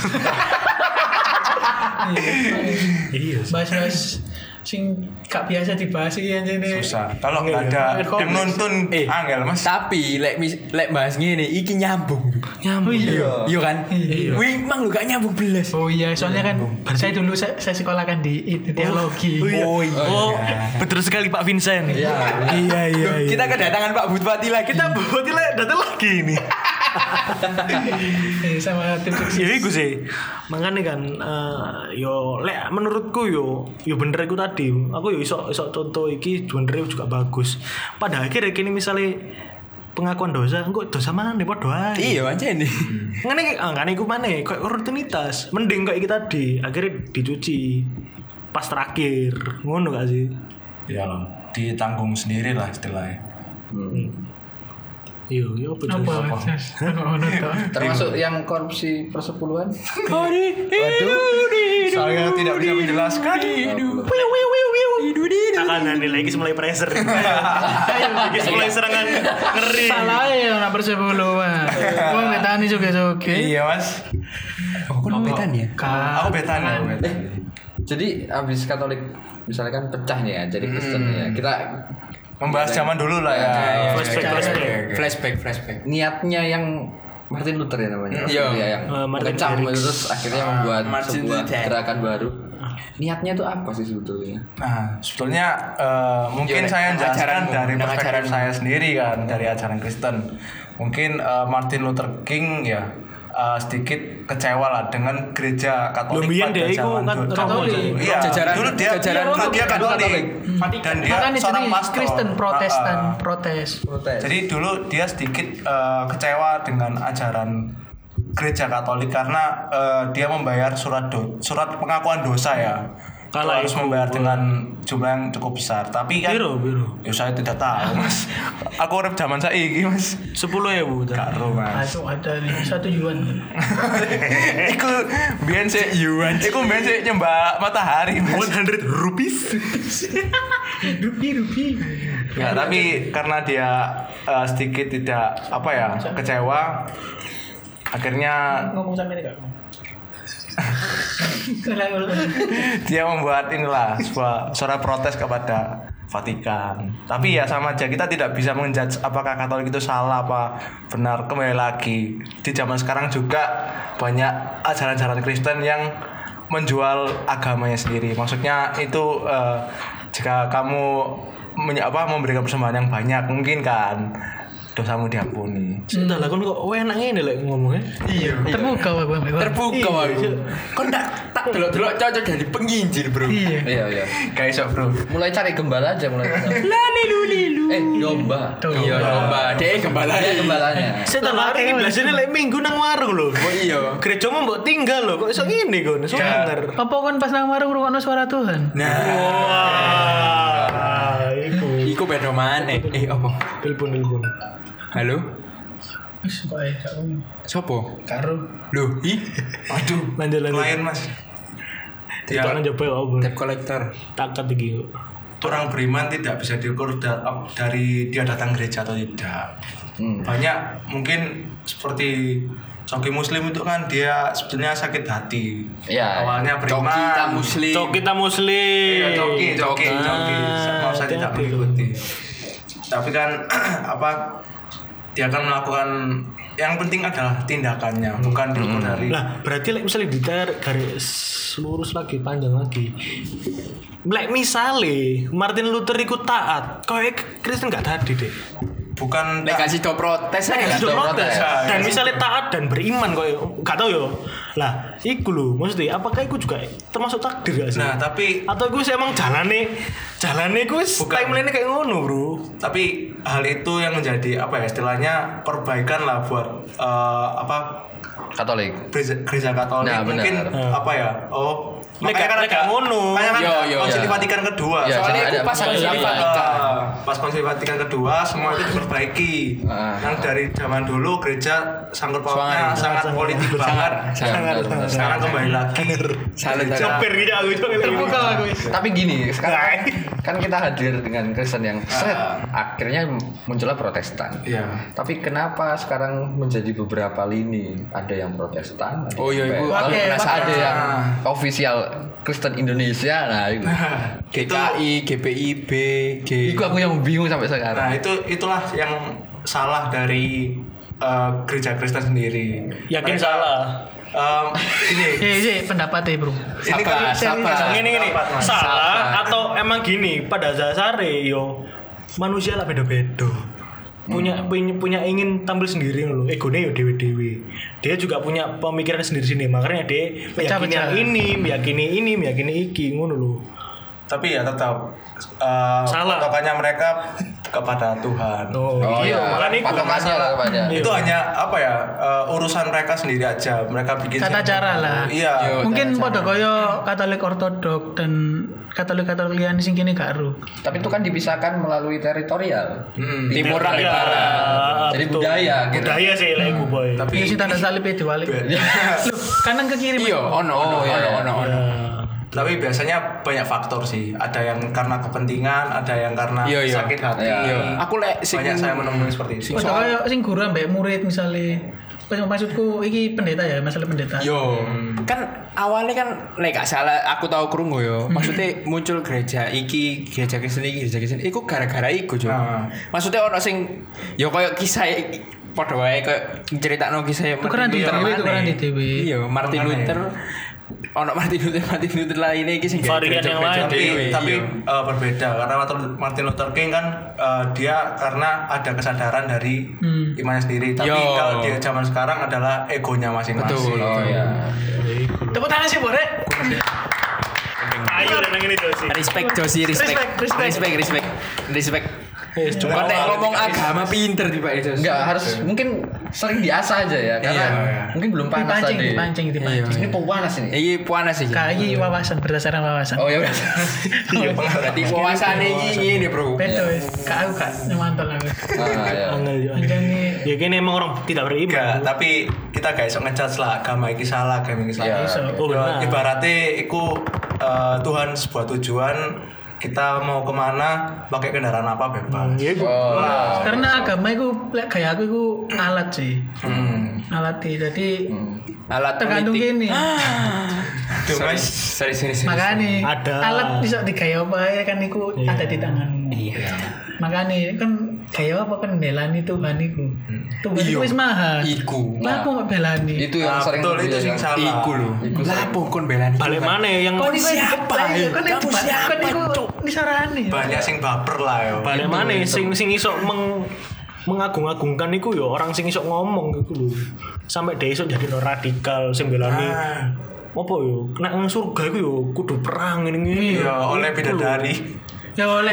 Iya. Bahas-bahas sing gak biasa dibahas iki anjene. Susah. Kalau nggak ada yang nuntun, Eh. angel, Mas. Tapi lek mis- lek bahas ngene iki nyambung. Oh iya. Iya kan? Wih, mang lu gak nyambung belas. Oh iya, soalnya kan saya dulu saya, saya sekolah kan di itu teologi. Oh iya. Oh, betul sekali Pak Vincent. Iya. Iya iya. iya. Kita kedatangan Pak Butpati lagi. kita buat datang lagi ini. Eh, sama tim sukses. Ya iku sih. Makanya kan eh, yo lek menurutku yo yo bener iku tadi. Aku yo iso iso contoh iki bener juga bagus. Pada akhirnya kini misalnya pengakuan dosa, engko dosa mana nih padha ae. Iya aja nih. Ngene iki ah ngene iku maneh koyo rutinitas. Mending kayak iki tadi, akhirnya dicuci pas terakhir. Ngono gak sih? Ya loh, ditanggung sendiri lah istilahnya. Iya, iya apa Apa? Jos? Jas? Ono to. Termasuk yang korupsi persepuluhan? Saya tidak bisa menjelaskan. Akan nilai lagi mulai pressure. Lagi mulai serangan ngeri. Salah ya nak persepuluhan. Gua betani juga oke. Iya, Mas. Oh, kok betan ya? Aku betanya, aku betanya. Jadi abis Katolik misalnya kan pecah nih ya, jadi Kristen ya. Kita Membahas zaman dulu lah ya. Flashback, flashback. Flashback, flashback. niatnya yang Martin Luther ya namanya. Iya. Dia yang Eh, Martin mengecam Garrix. terus akhirnya membuat Martin sebuah Luther. gerakan baru. Niatnya itu apa sih sebetulnya? Nah, sebetulnya eh, mungkin Iya, saya dengan jelaskan ajaranmu, dari dengan perspektif ajaranmu. saya sendiri kan, dari ajaran Kristen. Mungkin eh, Martin Luther King ya eh, sedikit kecewa lah dengan gereja Katolik Lumbian pada dia itu zaman kan dulu. Katolik. Iya, Jajaran- dulu dia jajaran dulu dia Katolik. Katolik dan dia Makanya seorang jadi pastor. Kristen Protestan, Ah, ah. protes. Protes. Jadi dulu dia sedikit eh, kecewa dengan ajaran gereja Katolik karena eh, dia membayar surat do, surat pengakuan dosa ya. Itu Kalah harus itu. membayar dengan jumlah yang cukup besar. Tapi kan Biro, biro. ya saya tidak tahu, Mas. Aku urip zaman saiki, Mas. Sepuluh ya bu. Karo, Ah, Mas. itu ada nih satu yuan. Iku biyen sik yuan. Iku biyen sik nyembah matahari, Mas. One hundred rupees. Rupi rupi. Ya, tapi karena dia eh, sedikit tidak apa ya, kecewa akhirnya Ngomong sama ini kak. dia membuat inilah sebuah suara protes kepada Vatikan. Tapi ya sama aja, kita tidak bisa menjudge apakah Katolik itu salah apa benar. Kembali lagi di zaman sekarang juga banyak ajaran-ajaran Kristen yang menjual agamanya sendiri. Maksudnya itu eh, jika kamu menye- apa memberikan persembahan yang banyak mungkin kan dosamu diampuni. Sudah lah, kan kok enak ini lah ngomongnya. Iya. Terbuka aku. Terbuka aku. Kok ndak tak Delok-delok cocok jadi penginjil, Bro. Iya. Iya iya. Gak iso, Bro. Mulai cari gembala aja mulai. Lali luli lu. Eh domba. Iya, domba. Dek gembala. Iya gembalanya. Setan hari ini biasanya lek minggu nang warung lho. Oh iya. Gerejamu mbok tinggal lho, kok iso ngene kon? Iso denger. Apa kan pas nang warung ngrungokno suara Tuhan? Nah, Wah, iku. iku beda maneh. Eh, apa? Telepon telepon. Halo? Wis kok ae gak ngono. Sopo? Karo. Loh, ih. Aduh, Lanjut lanjut. klien Mas. Ya, Jangan coba ya apa. Debt collector. Takat iki kok. orang beriman tidak bisa diukur da- dari dia datang gereja atau tidak. Hmm. Banyak mungkin seperti Coki Muslim itu kan dia sebetulnya sakit hati. Ya, Awalnya beriman. Coki kita muslim. Cok kita muslim. Iya, Coki, Coki, Coki. Coki. Mau saya tidak hati-hati. mengikuti. Tapi kan apa? Dia akan melakukan yang penting adalah tindakannya, bukan diukur dari. Lah, berarti like, misalnya ditarik garis lurus lagi, panjang lagi. Like misalnya Martin Luther ikut taat, kau Kristen gak tadi deh. Bukan Lek kasih do protes Saya aja. kasih Ada protes. protes. Dan misalnya taat dan beriman kau gak tahu yo. Lah, iku lho, maksudnya apakah iku juga termasuk takdir gak sih? Nah, tapi atau gue emang jalane jalane gue Bukan. timeline kayak ngono, Bro. tapi hal itu yang menjadi apa ya istilahnya perbaikan lah buat eh, apa Katolik. gereja, gereja Katolik Nah, benar. mungkin Hmm. apa ya oh Lek- makanya kan lek ada ngono. makanya kan Yo, ada yo, Konsili ya. Vatikan kedua Ya, Soalnya ada- aku pas ada- Konsili ada- Vatikan. Eh, pas Konsili Vatikan kedua semua itu diperbaiki. Ah. Yang dari zaman dulu gereja sangkut pautnya Sangat- sangat sangat- politik sangat- banget. Ya, benar, benar. Sekarang kembali lagi Salut, gereja. Sopir gitu aku itu Terbuka aku. Tapi gini, sekarang kan kita hadir dengan Kristen yang set, akhirnya muncullah Protestan. Iya. Tapi kenapa sekarang menjadi beberapa lini? Ada yang Protestan, ada Oh iya, yang ibu. P- Oke, penasaran. ada Pak. yang official Kristen Indonesia. Nah, itu. G K I, G P I B, G. Itu aku yang bingung sampai Nah sekarang. itu itulah yang salah dari eh, gereja Kristen sendiri. Yakin Mereka, salah. em, ini Iya, iya, pendapatnya, Bro. ini kan Sabar, sabar. Gini gini, Pendapat, Mas. salah Sabar. atau emang gini pada dasarnya yo manusia lah beda-beda. Punya punya punya ingin tampil sendiri loh. Egonya yo dewe-dewe. Dia juga punya pemikiran sendiri-sendiri. Makanya dia meyakini Pecah-pecah. yang ini, meyakini ini, meyakini iki ngono loh. tapi ya tetap eh, Salah. patokannya mereka kepada Tuhan. Oh, Oh iya, iya, makanya iku. patokannya lah kepada. Iya. Itu hanya apa ya eh, urusan mereka sendiri aja. Mereka bikin Tata sendiri. cara lah. Iya. Yo. Mungkin cara-cara. pada kaya Katolik Ortodok dan Katolik-Katolik liyan sing kene gak ero. Tapi itu kan dipisahkan melalui teritorial. Hmm. Timur Iya, dan barat. Jadi betul. budaya, gitu. Budaya sih lah iku boy. Tapi Iya sih tanda salibnya diwalik. Loh, kanan ke kiri. Iya, ono ono Oh, iya, ono iya. ono ono. tapi biasanya banyak faktor sih. Ada yang karena kepentingan, ada yang karena Iya, iya. sakit hati. Iya. Iya. Aku lek sing Banyak saya menemui seperti itu. Pada kaya sing guru ambek murid misalnya. Pas maksudku iki pendeta ya, masalah pendeta. Yo, kan awalnya kan lek gak salah aku tahu krungu yo. Maksudnya muncul gereja iki, gereja Kristen iki, gereja Kristen iku gara-gara iku, Jo. Ah. Maksudnya ono sing yo koyo kisah padha wae koyo critakno kisah Tukeran di dhewe, tukeran di dhewe. Iya, Martin Makanya. Luther ono Martin Luther, Martin Luther lainnya iki sing Varian yang lain. tapi dhewe, tapi iya. eh, berbeda karena Martin- Martin Luther King kan eh, dia karena ada kesadaran dari Hmm. imannya sendiri tapi Yo. kalau di zaman sekarang adalah egonya masing-masing. Betul. Oh iya. Tepuk tangan sih, Bore. Ayo nang ini Josi. Respect Josi, respect. Respect, respect. Respect, respect. Respect. Wes Kau cuma nek ngomong agama pinter tiba itu. Enggak, harus mungkin sering diasah aja ya, karena Iya. mungkin belum panas Dipancing, tadi. dipancing, dipancing. Ini panas ini. Iki panas iki. Kak, iki wawasan berdasarkan wawasan. Oh ya udah. Berarti wawasan iki ngene, Bro. Beto wis. Kak aku gak nyemantol aku. Ah ya. angel yo. Menjani Ya gini emang orang tidak beriman. Enggak, tapi kita gak iso ngejudge lah agama iki salah, agama iki salah. Ya. iso. Oh, benar. Ibaratnya iku eh, Tuhan sebuah tujuan, kita mau kemana, pakai kendaraan apa bebas. Ya iku. Oh. karena agama itu lek kayak aku itu alat sih. Hmm. Alat sih. Jadi Alat tergantung politik. gini. Duh, Sorry, Mas. sorry, sorry, sorry. Makanya Ada. alat bisa digaya apa ya kan itu Iya. ada di tanganmu. Iya. Makanya kan gaya apa kan belani Tuhan itu. Tuhan itu Iya. wis maha. Iku. Lah aku nggak belani. Itu yang Nah, sering betul itu sing dibilang. salah. Iku lho. Lah apa kon belani? Balik mana yang Kau ini siapa, ya? Kan itu Kamu siapa, kan itu Cuk? disarani. Banyak sing baper lah yo. balik mana sing sing iso meng mengagung-agungkan iku yo orang sing iso ngomong iku lho. Sampai dia iso jadi no radikal sing belani. Ah. apa yo nek nang surga iku yo kudu perang ngene-ngene. Iya, oleh bidadari. Ya oleh.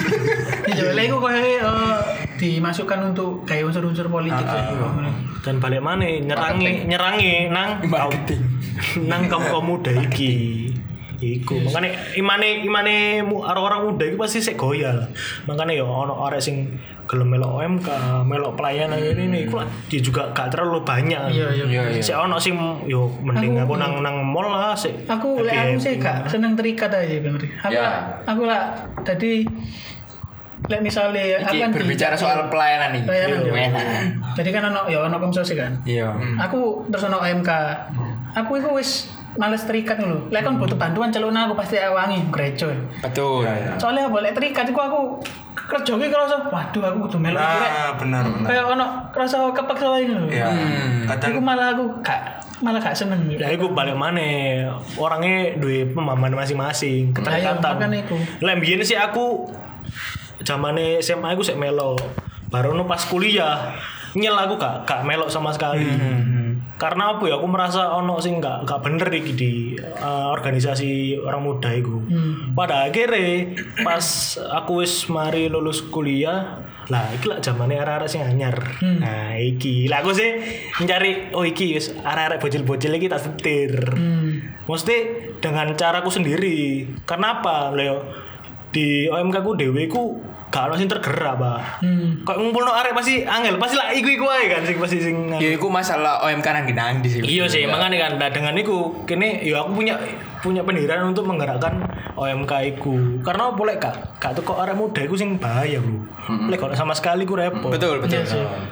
Ya oleh iku koyo eh, dimasukkan untuk kayak unsur-unsur politik gitu. Dan balik mana nyerangi nyerangi nang Marketing. nang kaum kaum muda iki. Iku makane imane imane mu- orang-orang muda iki pasti sik goyal. Makane yo ono arek sing gelem melok O M K, melok pelayanan ini nih, iku lah dia juga gak terlalu banyak. Iya, iya. Iya iya. Sik ono sing yo mending Aku- aku nang nang mall lah sik. Aku lek aku sih gak seneng terikat aja Bang Ri. Aku Ya. lah, aku lah tadi lek misalnya aku Iki kan di- berbicara soal pelayanan nih. Pelayanan, Iya. iya. Enak. Jadi kan ono ya ono komsos kan. Iya. Aku terus ono O M K. Aku itu wis males terikat lho. Lek kan butuh bantuan celuk aku pasti wangi gereja. Betul. Soalnya boleh terikat iku aku kerja ki kerasa waduh aku kudu melok iki rek. Nah, benar benar. Kayak ono kerasa kepaksa wae lho. Ya. Iku Kadang malah aku gak malah gak seneng. Ya iku balik mana orangnya duwe pemahaman masing-masing keterikatan. Ayo, makanya iku. Lah mbiyen sih aku zamane S M A aku sik melo. Baru no pas kuliah nyel aku gak gak melok sama sekali. Karena apa ya aku merasa ono sing gak gak bener iki di uh, organisasi orang muda iku. Pada akhirnya pas aku wis mari lulus kuliah, lah iki lah zamane arek-arek sing anyar. Nah, iki. Lah aku sih mencari oh iki wis arek-arek bocil-bocil iki tak setir. Mesti dengan caraku sendiri. Karena apa? Leo di O M K ku dhewe ku gak ono sing tergerak, Pak. Hmm. Kok ngumpulno arek pasti angel, pasti lah iku-iku ae kan sing pasti sing Ya iku masalah O M K nang nang di sini. iya sih, makanya kan nah, dengan itu kini ya aku punya punya pendirian untuk menggerakkan O M K iku. Karena boleh kak, kak tuh kok arek muda iku sing bahaya bro. Lek kalau sama sekali ku repot. Betul betul.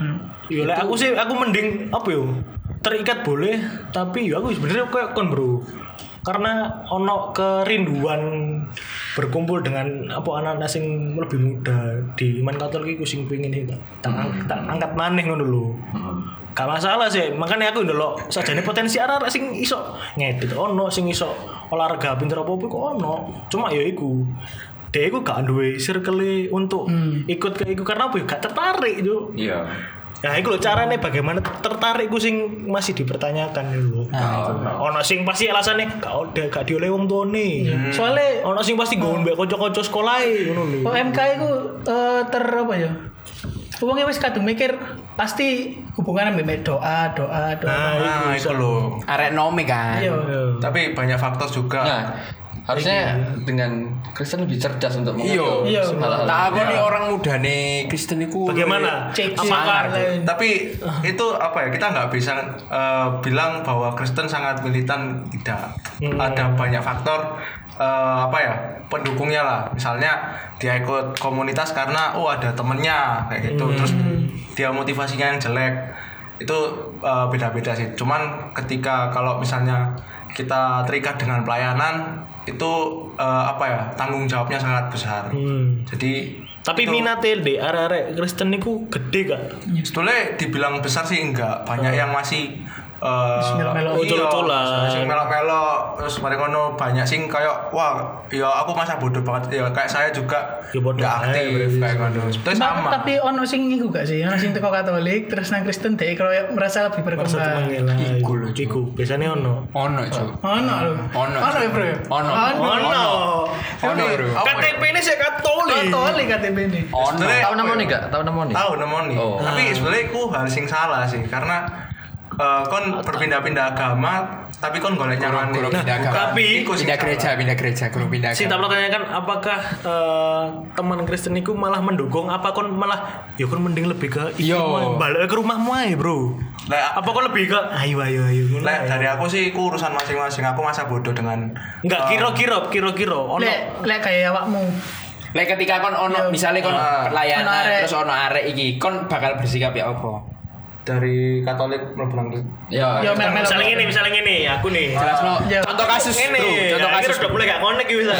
Ya lek aku sih aku mending apa yo terikat boleh, tapi ya aku sebenarnya kayak kon bro. Karena ono kerinduan berkumpul dengan apa anak-anak sing lebih muda di iman Katolik iku sing pengin sih tak, tak angkat maneh ngono lho. Gak masalah sih, makanya aku ndelok sajane potensi arek sing iso ngedit ono, sing iso olahraga pinter apa kok ono. Cuma ya iku. Dia iku gak duwe circle untuk ikut ke iku karena apa ya gak tertarik yo. Iya. Nah, iku lho carane bagaimana tertarik ku sing masih dipertanyakan lho. Ono sing pasti alasane gak udah gak dioleh wong tuane. Soalnya Ono sing pasti nggon mbek kanca-kanca sekolahe ngono lho. O M K itu eh, ter apa ya? Wongnya wis kadung mikir pasti hubungan ambek doa, doa, doa. nah itu loh. Arek nome kan. Iya. Tapi banyak faktor juga. Nah, harusnya dengan Kristen lebih cerdas untuk Iya. mengatur Iya. hal-hal. Tak aku nih orang muda nih Kristen iku. Bagaimana? Cek Apakah lain. Tapi itu apa ya, kita nggak bisa eh, bilang bahwa Kristen sangat militan, tidak. Ada banyak faktor eh, apa ya pendukungnya lah. Misalnya dia ikut komunitas karena oh ada temennya kayak gitu, terus dia motivasinya yang jelek, itu eh, beda-beda sih. Cuman ketika kalau misalnya kita terikat dengan pelayanan itu eh, apa ya tanggung jawabnya sangat besar. Hmm. Jadi Tapi itu- minate de arek-arek Kristen niku gede gak? sebetulnya dibilang besar sih enggak, banyak yang masih eh melok-melok. iya, Ucul-uculan. sing melok-melok, terus mari ngono banyak sing kayak wah ya aku masa bodoh banget ya kayak saya juga Ya bodoh enggak aja, aktif kayak ngono. Sebetulnya Ma- sama. Tapi ono sing iku gak sih? Ono sing teko Katolik terus nang Kristen dek kalau merasa lebih Merasa berkembang. temen lah. Iku lho, Cuk. Iku biasanya ono. Ono Cuk. Ono lho. Ono, Ono ya, Bro. Ono. Ono. Ono bro. K T P ini saya Katolik. Katolik K T P ini. Ono. Sebenarnya Tahu apa namanya ya? enggak? Tahu namanya? Tahu nemoni. Oh. Tapi sebenarnya aku hal sing salah sih karena eh, kon berpindah-pindah agama tapi kon golek nyaman. Kurang pindah agama. tapi- iku sing Pindah salah. gereja, pindah gereja, kurang pindah. Sing tak agama. pertanyakan apakah eh, teman Kristen itu malah mendukung apa kon malah ya kon mending lebih ke Iya. iku, balik ke rumahmu aja bro. Lah, Apa kon lebih ke ayo ayo ayo. ngono Lek ae. dari aku sih iku urusan masing-masing. Aku masa bodoh dengan Enggak eh, kira-kira kira-kira ono. Lek lek kayak awakmu. Lek ketika kon ono Iya. misalnya kon Ah. pelayanan Ono arek. terus ono arek iki, kon bakal bersikap ya apa? dari Katolik mlebu nang Kristen. Ya. Yo mel mel. Misalnya gini, misalnya gini, aku nih. Jelas no. Iya. Contoh kasus, ini, bro. Contoh ya, kasus. Ini udah mulai gak connect gitu bisa.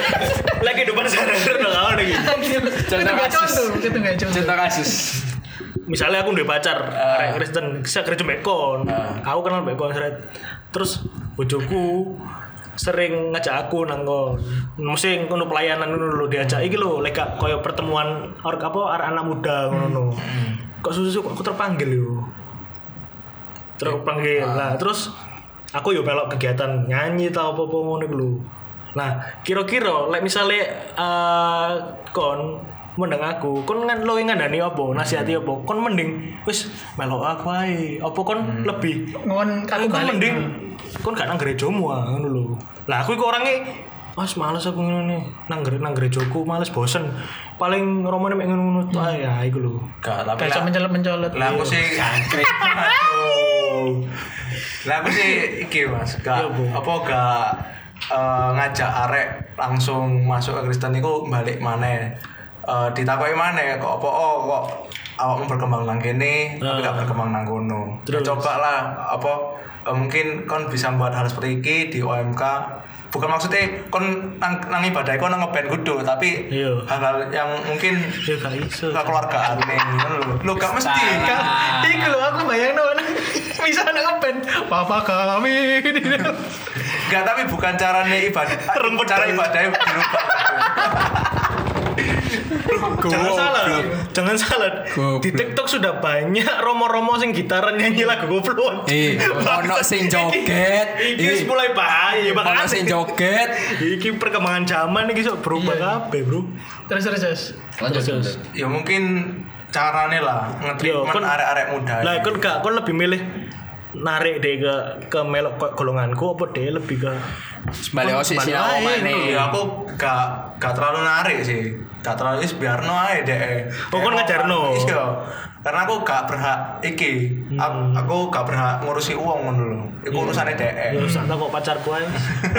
Lagi kehidupan sehari-hari udah gak connect gitu. Itu Contoh gak kasus. contoh, itu gak contoh. Contoh kasus. Misalnya aku udah pacar, arek Kristen, saya kerja bekon, aku kenal bekon seret. Terus bojoku sering ngajak aku nang kon. Mesti ngono pelayanan ngono lho diajak iki lho, lek gak koyo pertemuan or apa arek anak muda ngono. Kok susu kok aku terpanggil yo. Terpanggil. Lah terus aku yo melok kegiatan nyanyi tau apa-apa ngono iku lho. Nah, kira-kira lek misale uh, kon mendeng aku, kon kan lo ngandani apa, nasihati apa, kon mending wis melok aku ae. Apa kon hmm. lebih ngon aku kon mending kon gak nang gerejamu ah ngono lho. Lah aku iku orange Mas males aku ngene nang nang gerejaku males bosen. Paling romane mek ngono tok ae ya iku lho. Gak tapi kayak mencolot-mencolot. Lah aku sih jangkrik. Aduh. Lah aku sih iki Mas, gak apa gak uh, ngajak arek langsung masuk ke Kristen iku balik maneh. Uh, ditakoki maneh kok apa oh kok awakmu berkembang nang kene tapi gak berkembang nang kono. Coba lah apa uh, mungkin kon bisa buat hal seperti iki di O M K. Bukan maksudnya kon nang, nang ibadah kon nang ngeband kudu tapi iyo. Hal-hal yang mungkin ya gak iso keluargaan nih lho. Lho gak mesti kan. Iku lho aku bayangno bisa nang ngeband Papa kami. Enggak tapi bukan caranya ibadah. Cara ibadahnya dirubah. Jangan salah, jangan salah. Di TikTok sudah banyak romo-romo sing gitaran nyanyi lagu goblok. Eh, ono sing joget. Iki mulai bahaya banget. Ono sing joget. Iki perkembangan zaman iki sok berubah kabeh, Bro. Terus terus terus. Lanjut terus. Ya mungkin carane lah nge-treatment arek-arek muda. Lah kon gak kon lebih milih narik deh ke ke melok golonganku apa deh lebih ke balik osis ya maneh. Ya aku gak gak terlalu narik sih. Gak terlalu is biarno ae deh. Oh kon ngajarno. Iya. Karena aku gak berhak iki. Hmm. Aku, aku gak berhak ngurusi uang ngono lho. Iku urusane dhek. Ya wis tak kok pacarku ae.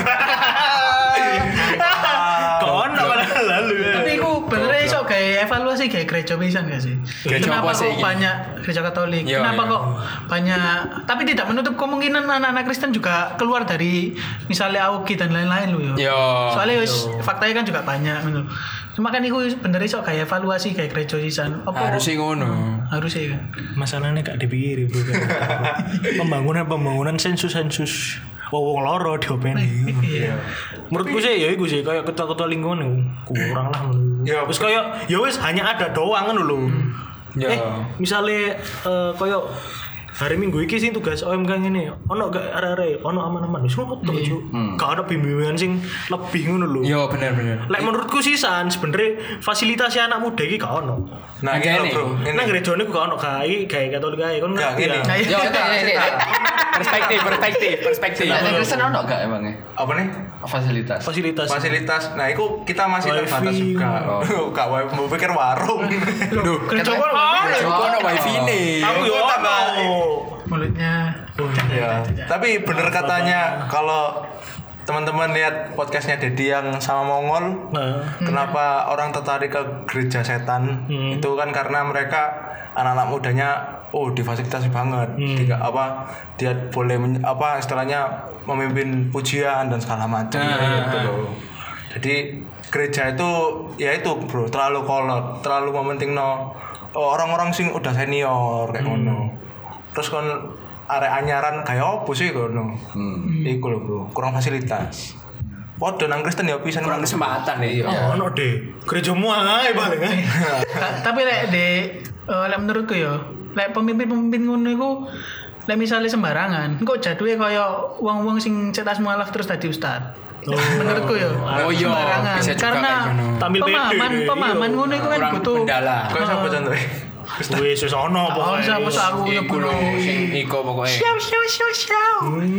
Kon lalu. Tapi aku bener iso kayak evaluasi kayak gereja pisan gak sih? Kenapa kok banyak gereja Katolik? Yo, Kenapa yo. kok banyak? Tapi tidak menutup kemungkinan anak-anak Kristen juga keluar dari misalnya A U G dan lain-lain lo yo. Yo. Soalnya wis faktanya kan juga banyak gitu. Cuma kan iku bener iso kayak evaluasi kayak gereja pisan. Harus sih ngono. Harusnya kan. Masalahnya gak dipikir bro. Pembangunan pembangunan sensus sensus. Wong loro diopeni. Iya. Menurutku sih ya iku sih kayak ketua-ketua lingkungan kurang lah. Ya wis kayak ya wis hanya ada doang ngono lho. Ya. Eh, misale uh, kayak hari Minggu iki sing tugas O M K ngene, ono gak arek-arek, ono aman-aman wis ngono tok, Cuk. Gak ada bimbingan sing lebih ngono lho. Yo bener-bener. Lek menurutku sih san sebenarnya fasilitasi anak muda iki gak ono. Nah, ini bro. Nang gerejane gak ono kae, kae Katolik kae kon ngerti ya. Yo ini perspektif perspektif perspektif. Nah, Kristen ono gak emangnya? Apa nih? Fasilitas. Fasilitas. Fasilitas. Nah, itu kita masih Wifi. terbatas juga. Oh. Gak wifi, mau pikir warung. Duh, gereja kon Ono wifi nih. Aku yo ono. Mulutnya. Ya. Tapi bener katanya kalau teman-teman lihat podcastnya Dedi yang sama Mongol, Nah. kenapa orang tertarik ke gereja setan? Hmm. Itu kan karena mereka anak-anak mudanya oh difasilitasi banget. Hmm. Tidak apa dia boleh men, apa istilahnya memimpin pujian dan segala macam Nah. gitu loh. Jadi gereja itu ya itu bro terlalu kolot, terlalu mementing no orang-orang sing udah senior kayak Hmm. ngono. Terus kan arek anyaran kayak opo sih kono. Hmm. Iku lho bro, kurang fasilitas. Padha nang Kristen ya pisan Kurang kesempatan nih. Oh, ono deh. Gerejamu ae paling ae. Tapi lek de eh, lek menurutku yo, lek pemimpin-pemimpin ngono iku lek misale sembarangan, kok jadule kaya wong-wong sing cetas mualaf terus dadi ustad. Menurutku yo. Oh iya, sembarangan. bisa juga Karena kayak ngono. Tampil pede pemahaman deh, pemahaman iya. ngono iku kan Kurang butuh. pendala. Kayak siapa contohnya? Wis wis ono Oh, pokoke. siapa sih aku yo Iku lho sing iko pokoknya. Siau siau siau siau.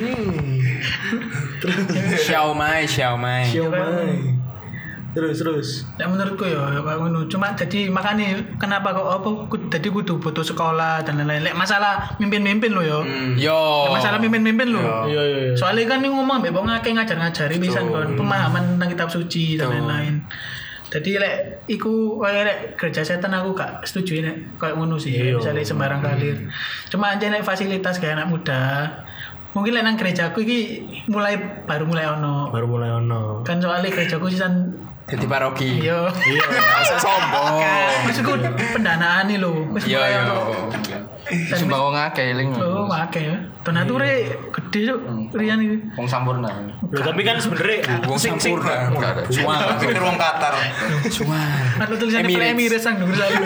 Xiao Mai, Xiao Mai. Terus terus. Lek menurutku yo yo kayak ngono. Cuma jadi makanya kenapa kok apa ku- jadi kudu butuh sekolah dan lain-lain. Lek masalah mimpin-mimpin lo yo. Yo. Lek masalah mimpin-mimpin lo. Iya iya iya. Soalnya kan ini ngomong mbek wong akeh ngajar-ngajari pisan kon pemahaman tentang kitab suci dan lain-lain. Jadi lek iku kaya lek gereja setan aku gak setuju nek kayak ngono sih. Iya. Misalnya sembarang kalir. Cuma aja nek fasilitas kayak anak muda. Mungkin lek nang gerejaku iki mulai baru mulai ono. Baru mulai ono. Kan soalnya gerejaku sisan Jadi paroki. yo. Iya. Masa sombong. Maksudku pendanaan nih lho. Wis Yo mulai yo. ono Sumpah wong akeh eling. Oh, akeh ya. Donature gede cuk. Rian iki. Wong sampurna. Loh, tapi kan sebenarnya Wong sing sing sampurna. Enggak ada. Cuma Pikir wong Qatar. cuma. Ada tulisannya Emirates. Emirates sang dhuwur saya.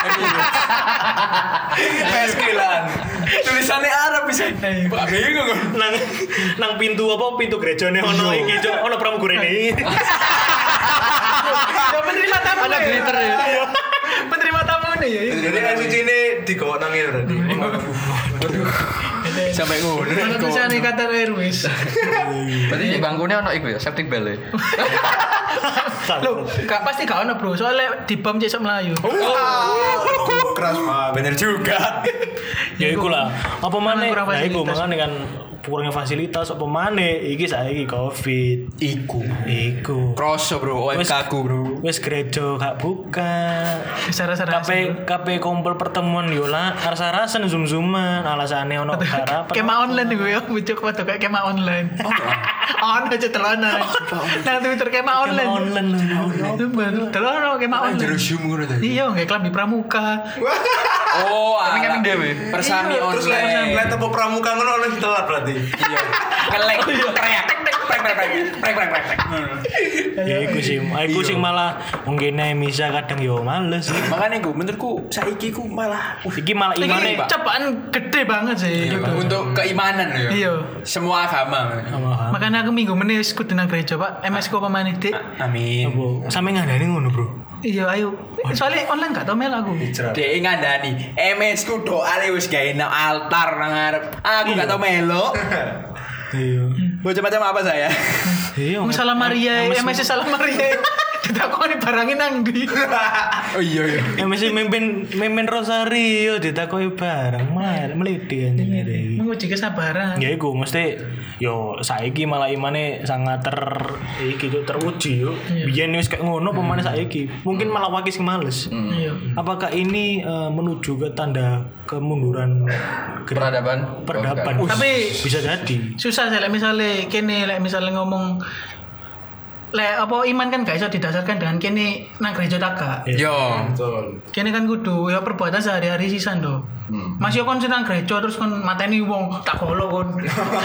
Meskilan. Tulisannya Arab bisa. Pak bingung kan. nang nang pintu apa pintu gerejane ono iki cuk ono pramugurine. Ya penerima tamu. Ada glitter ya. Penerima tamu nih ya. Jadi kan suci ini digawa nang ngene berarti. Sampai ngono. Ada tulisannya Qatar Airways. Berarti di bangkunya ono iku ya, septic bell. Loh, gak pasti gak ono, Bro. Soalnya di bom cek Melayu. Keras banget. Bener juga. Ya iku lah. Apa maneh? Kurang Nah iku fasilitas. makane kan kurangnya fasilitas apa maneh iki saiki Covid. Iku. Iku. Kroso bro, O M K ku bro. Wis gereja gak buka. Sara-sara. Kabeh kabeh kumpul pertemuan yo lah arsa-arasen zoom-zooman alasane ono harapan. Kema online nih gue ya, bujuk foto kayak kema online. On aja telonan. Nah Twitter kema online. online. Itu baru telonan kema online. Zoom ngono tadi. Iya, nggak kelambi pramuka. Oh, Tapi kan ala. dewe. Persami Terus online. lihat tepuk pramuka ngono oleh telat berarti. Iya. Ngelek. Teriak. Prek prek prek. Prek prek prek. Ya iku sih, iku sing malah mungkin Misa kadang yo males sih. Makanya gue menurutku saiki ku malah Iki malah Ini imane cobaan gede banget sih. gitu. untuk keimanan ya. Iya. Semua agama. Makanya aku minggu menit kudu nang gereja, Pak. M S ku apa maneh, Dik? Amin. apa sampe ngandani ngono, Bro. Iya, ayo. Soalnya online gak tau mel aku. Dek ngandani, M S ku doa wis gawe nang altar nang ngarep. Aku gak tau melo. Iya. Bocah macam apa saya? Iya. Salam Maria, M S Salam Maria. Ditakoni barangin nang ndi? Oh iya iya. Ya mesti mimpin mimpin rosario ditakoki bareng mal meliti anjing iki. Menguji kesabaran. Ya iku mesti yo saiki malah imane sangat ter iki yo teruji yo. Biyen wis kayak ngono pemane saiki. Mungkin malah wakis males. Iya. Apakah ini eh, menuju ke tanda kemunduran ke- Peradaban. peradaban? Bukan. Tapi Bisa jadi. susah sih, like misalnya kene, like misalnya ngomong lek apa iman kan gak iso didasarkan dengan kene nang gereja tak gak. Yo. Betul. Kene kan kudu ya perbuatan sehari-hari sisan do. Mas yo kon sing nang gereja terus kon mateni wong tak golo kon.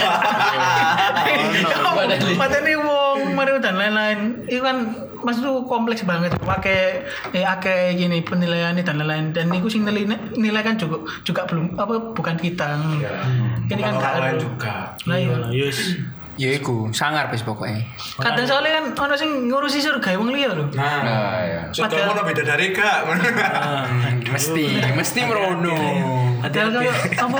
Mateni wong mari dan lain-lain. Itu kan mas itu kompleks banget. Pakai eh akeh gini penilaiannya dan lain-lain dan itu sing nilai nilai kan juga juga belum apa bukan kita. Kene kan gak lain ada. juga. Lah iya. Yes. Ya iku, sangar wis pokoknya. Kadang soalnya kan ono sing ngurusi surga wong liya lho. Nah, Nah, ya. sudah mau beda dari kak. Mesti, mesti merono. Padahal kalau apa?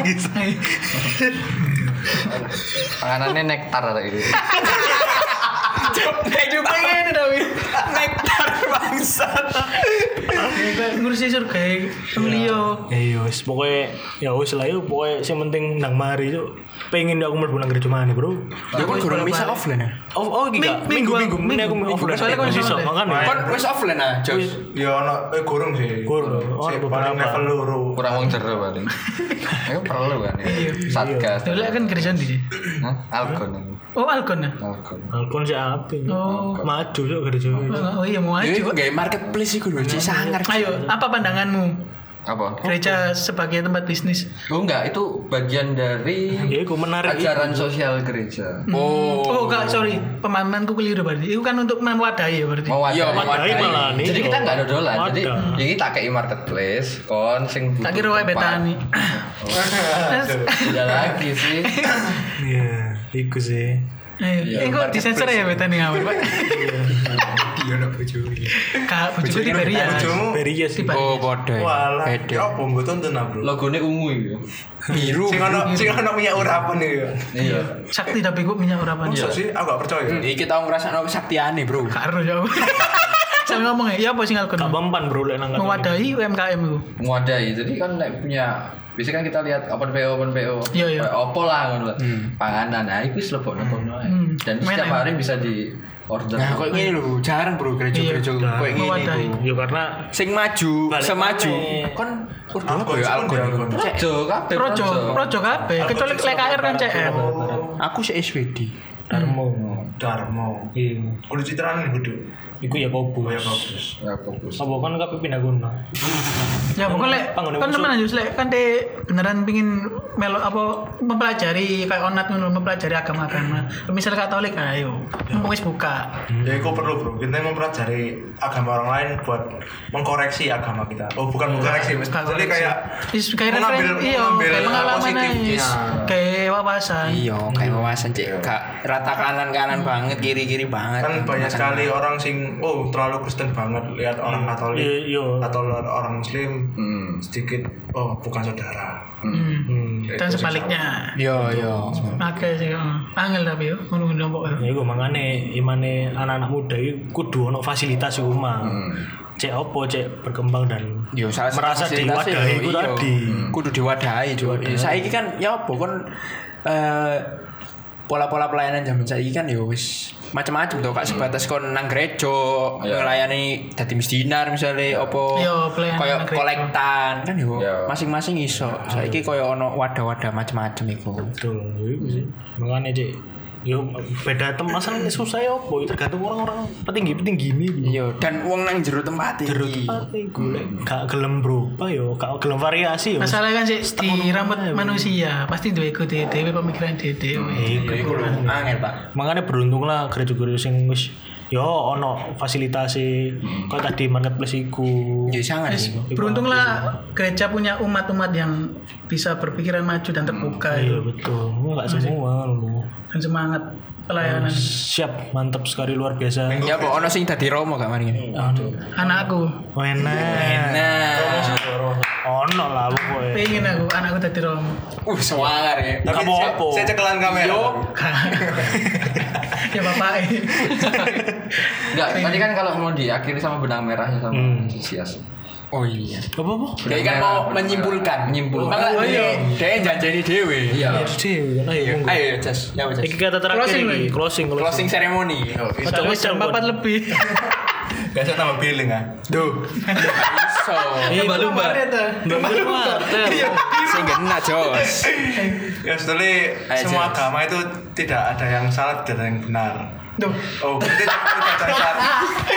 Panganannya nektar kayak gitu. Nek juga Pengen Dawi. nektar bangsat. Ngurusi surga wong liya. Ya iya wis pokoke ya wis lah yo pokoke sing penting nang mari yo pengen aku mlebu nang gereja mana, Bro. Ya kan kurang bisa offline ya. Oh, oh iki gak? Minggu- Minggu minggu minggu aku minggu. offline. Soalnya kan iso online. makane. Kon wis offline ah, Jos. Ya ono eh kurang sih. Kurang. Oh, Si beberapa. paling level loro. Kurang wong jero paling. Itu perlu kan. Ya. Satgas. Dulu kan gereja ndi? Hah? Algon. Oh, Algon ya? Algon. Alkon sih apa? Oh. Maju yo gereja. Oh iya mau Ya maju. iku gawe marketplace iku lho, Ci sangar. Ayo, apa pandanganmu? Apa? Gereja sebagai tempat bisnis. Oh enggak, itu bagian dari Ya iku menarik. ajaran sosial gereja. Oh. Oh, enggak, sorry. Pemahamanku keliru berarti. Itu kan untuk mewadahi ya berarti. Mewadahi. Iya, Wadahi malah nih. Jadi kita enggak dodolan. Jadi Wadah. ini tak kayak marketplace, kon sing butuh Tak kira wae tempat. betani. Tidak lagi sih. Iya, iku sih. Ayo, Iya, eh kok disensor ya betani ngawur, Pak? Dia nak bojo. Kak, bojoku di Beria. Bojomu Beria sih. Oh, padha. Walah. Beda. Ya apa mbok tonton ah, Bro. Logone ungu itu. Biru. Sing ono sing ono minyak urapan iki ya. Iya. Sakti tapi kok minyak urapan. Masa sih aku gak percaya. Iki tau ngrasakno kesaktiane, Bro. Karo ya. Saya ngomong ya, ya apa sing Algon? Gak mempan, Bro, lek nang kene. Mewadahi U M K M itu. Mewadahi. Jadi kan nek punya biasanya kan kita lihat open P O open P O. Iya, iya. Kayak opo lah ngono lah. Panganan. Nah, itu wis lebokno kono ae. Hmm. Dan Main setiap ae. hari bisa di order. Nah, kok ngene lho, jarang Bro gereja-gereja Iya. koyo ngene Mewadahi. iku. Ya karena Sing maju, Balik semaju. maneh. Kon udah apa Algon, ya Algon. algon. Projo kabeh. Projo, projo kabeh. Kecuali L K R kan C R. Aku sih S W D. Darmo. Darmo. Iya. Kudu citraan kudu. Iku ya Kobus. Ya bagus. Ya fokus. Apa kan kabeh pindah gunung. Ya pokoknya lek Panggone kan musuh. teman Yus lek kan de beneran pingin melo apa mempelajari kayak onat ngono mempelajari agama-agama. Misal Katolik ayo mumpung wis buka. Ya itu perlu bro, kita mempelajari agama orang lain buat mengkoreksi agama kita. Oh bukan mengkoreksi, jadi kayak Is kayak mengambil- referen- iya mengambil kayak pengalaman positifnya. aja. Kayak wawasan. Iya, kayak wawasan cek gak rata kanan kanan banget, kiri kiri banget. Kan banyak sekali orang sing oh terlalu Kristen banget lihat orang Katolik Iya, iya. atau orang Muslim Hmm. sedikit oh bukan saudara. Hmm. Ya, Dan itu sebaliknya. Yo yo. Oke sih, heeh. Angel tapi yo ngono-ngono pokoknya. Ya iku mangane imane anak-anak muda iki kudu ono fasilitas iku mah. Cek opo cek berkembang dan Yo salah satu merasa fasilitas diwadahi yo, iku iya. tadi. Kudu diwadahi juga. Saiki kan ya apa kan eh pola-pola pelayanan zaman saiki kan yo wis macam-macam tuh kak sebatas kon nang gereja Iya. ngelayani dadi misdinar misalnya opo Iya, pelayanan koyo nang gereja. kolektan kan yo Iya. masing-masing iso. Saiki koyo ono wadah-wadah macam-macam iku. Betul, iku sih. Mangane cek yo beda tem masalah susah ya opo tergantung orang-orang petinggi-petinggi ini. Iya, dan wong nang jero tempat iki. Terus iku lek gak gelem berubah yo, gak gelem variasi yo. Masalahnya kan sih di rambut manusia pasti duwe iku dhewe pemikiran dhewe. Iku Angel, Pak. makanya beruntung lah gereja-gereja sing wis yo ono fasilitasi kok tadi marketplace iku. Ya sangat iku. Beruntunglah gereja punya umat-umat yang bisa berpikiran maju dan terbuka Iya itu. betul, enggak semua lu. Dan semangat pelayanan. Siap, mantap sekali luar biasa. Ya apa ono sing dadi romo gak mari ngene. Aduh, Anakku, enak. Nah. Ono lah pokoknya. pengen aku anakku dadi romo. Uh, semangar ya. Tapi Kamu saya, apa? saya cekelan kamera. Yo. Ya bapak. Enggak, tadi kan kalau mau diakhiri sama benang merahnya sama Hmm. Sias. Oh iya. Apa apa? Dia kan mau menyimpulkan, Menyimpulkan. Makanya Oh, iya. dia janjani dewe. Iya. Sih, ayo. monggo. Ayo, Jas. Ya, Jas. Iki kata terakhir Closing, iki, Lin. closing, Closing ceremony. Ojo wis Jam empat lebih. Biasa tambah billing ah. Duh. So, lumba-lumba. Lumba-lumba. sing kena, Jos. Ya setelah Ayo, semua Jas. agama itu tidak ada yang salah, tidak ada yang benar. Tuh. Oh, berarti tidak ada yang salah.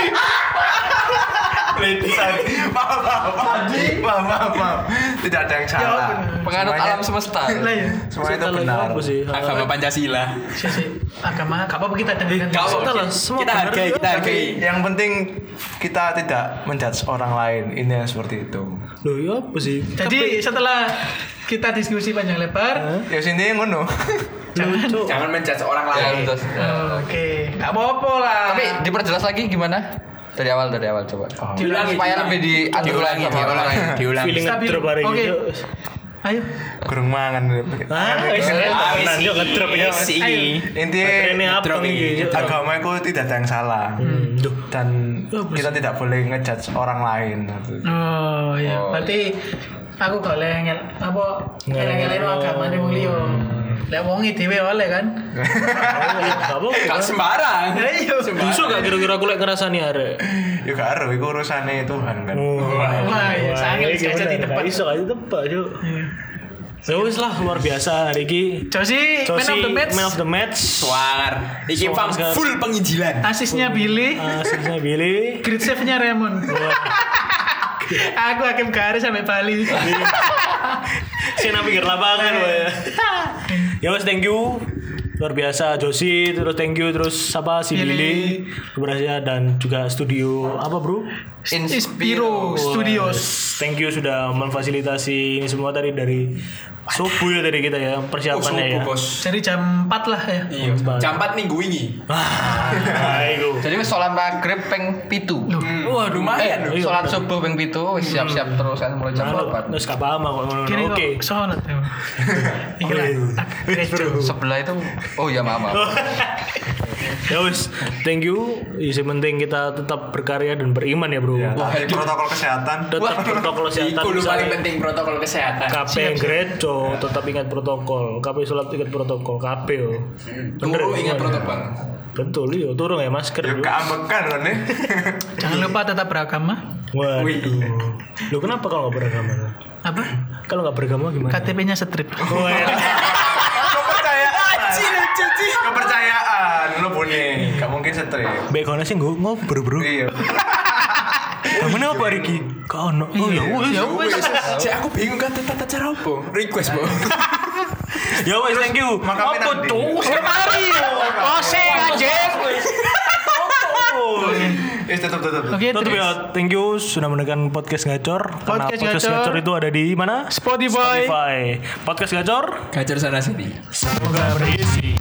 Sorry. Maaf, maaf, maaf, maaf, maaf, maaf. Tidak ada yang salah. benar. Penganut Semuanya- alam semesta. Lah ya. Semua itu benar. Apa sih? Agama Pancasila. Sih sih. Agama gak apa-apa kita dengarkan. Kau Kita lah, semua kita benar. hargai, kita hargai. Yang penting kita tidak menjudge orang lain. Ini yang seperti itu. Loh, ya apa sih? Jadi setelah kita diskusi panjang lebar, Ya sini ngono. jangan. Jangan menjudge orang Ya, lain. terus. Oke, gak apa-apa lah. Tapi diperjelas lagi gimana? Dari awal dari awal coba. Diulangi, Supaya diulangi. lebih diatur Diulangi, sama orang diulangi, lain. diulangi. Feeling Stabil. ngedrop hari Oke. ini. Ayo. Kurang mangan. Ah, wis tenan yo ngedrop ya. Si. Intinya Ini apa Ngedrop nih? ini. agama itu tidak ada yang salah. Hmm, duh. Dan kita tidak boleh ngejudge orang lain. Oh ya, berarti aku gak oleh ngel apa ngel-ngelain agama nih wong liya. Lek wonge dhewe oleh kan. Gak apa-apa. Gak sembarang. Ya iya. Bisa gak kira-kira aku lek ngerasani arek? Ya gak ada, itu urusannya Tuhan kan. Wah, ya sangat iki gak jadi bener, tempat. gak iso gak tebak, Cuk. Ya wis lah luar biasa hari ini. Josi, man Josi, of the match. man of the match. Suar. Iki Suar pam sekali. full penginjilan. Asisnya Billy, Aslinya Billy. grid save-nya Raymond. Aku hakim garis sampai Bali. Sina pikir lapangan wae. Ya wes thank you. Luar biasa Josi, terus thank you terus apa si Billy. Billy, Lubrasya dan juga studio apa bro? Inspiro Studios. Thank you sudah memfasilitasi ini semua tadi dari subuh ya tadi kita ya persiapannya ya. Bos. Jadi jam empat lah ya. Iya. Jam empat minggu ini. Ah, itu. Jadi wis sholat maghrib peng pitu. Wah, lumayan. Eh, sholat subuh peng pitu wis siap-siap terus kan mulai jam empat. Terus gak paham aku ngono. Kini Oke. kok sholat ya. Iki lah. Gereja. Sebelah itu oh ya maaf. maaf. Ya wes, thank you. Yang penting kita tetap berkarya dan beriman ya bro. Ya, Wah, tapi protokol kesehatan. tetap protokol kesehatan. Iku lu misalnya paling penting protokol kesehatan. K P gerejo tetap ingat protokol. K P sholat ingat protokol. K P yo. Bener Turu ya, ingat semuanya. protokol. Betul yo, turun ya masker. Ya yo. keambekan kan nih. Jangan lupa tetap beragama. Waduh. Lu kenapa kalau nggak beragama? Apa? Kalau nggak beragama gimana? K T P-nya strip. Oh, ya. Kepercayaan. Kepercayaan lo bune. Gak mungkin strip. Mbak kono sih nggo ngobrol, Bro. Iya. Kamu apa Riki? Kau ono. Oh ya wis. Ya wis. Cek aku bingung kan tata cara apa? Request, Bu. Ya wis, thank you. Makamnya Apa nanti. tuh? Mari. Ose anjing. Eh tetap tetap. Oke, Tutup terus ya, thank you sudah mendengarkan podcast Gacor. Karena Podcast podcast Gacor. Gacor itu ada di mana? Spotify. Spotify. Podcast Gacor. Gacor sana sini. Semoga berisi.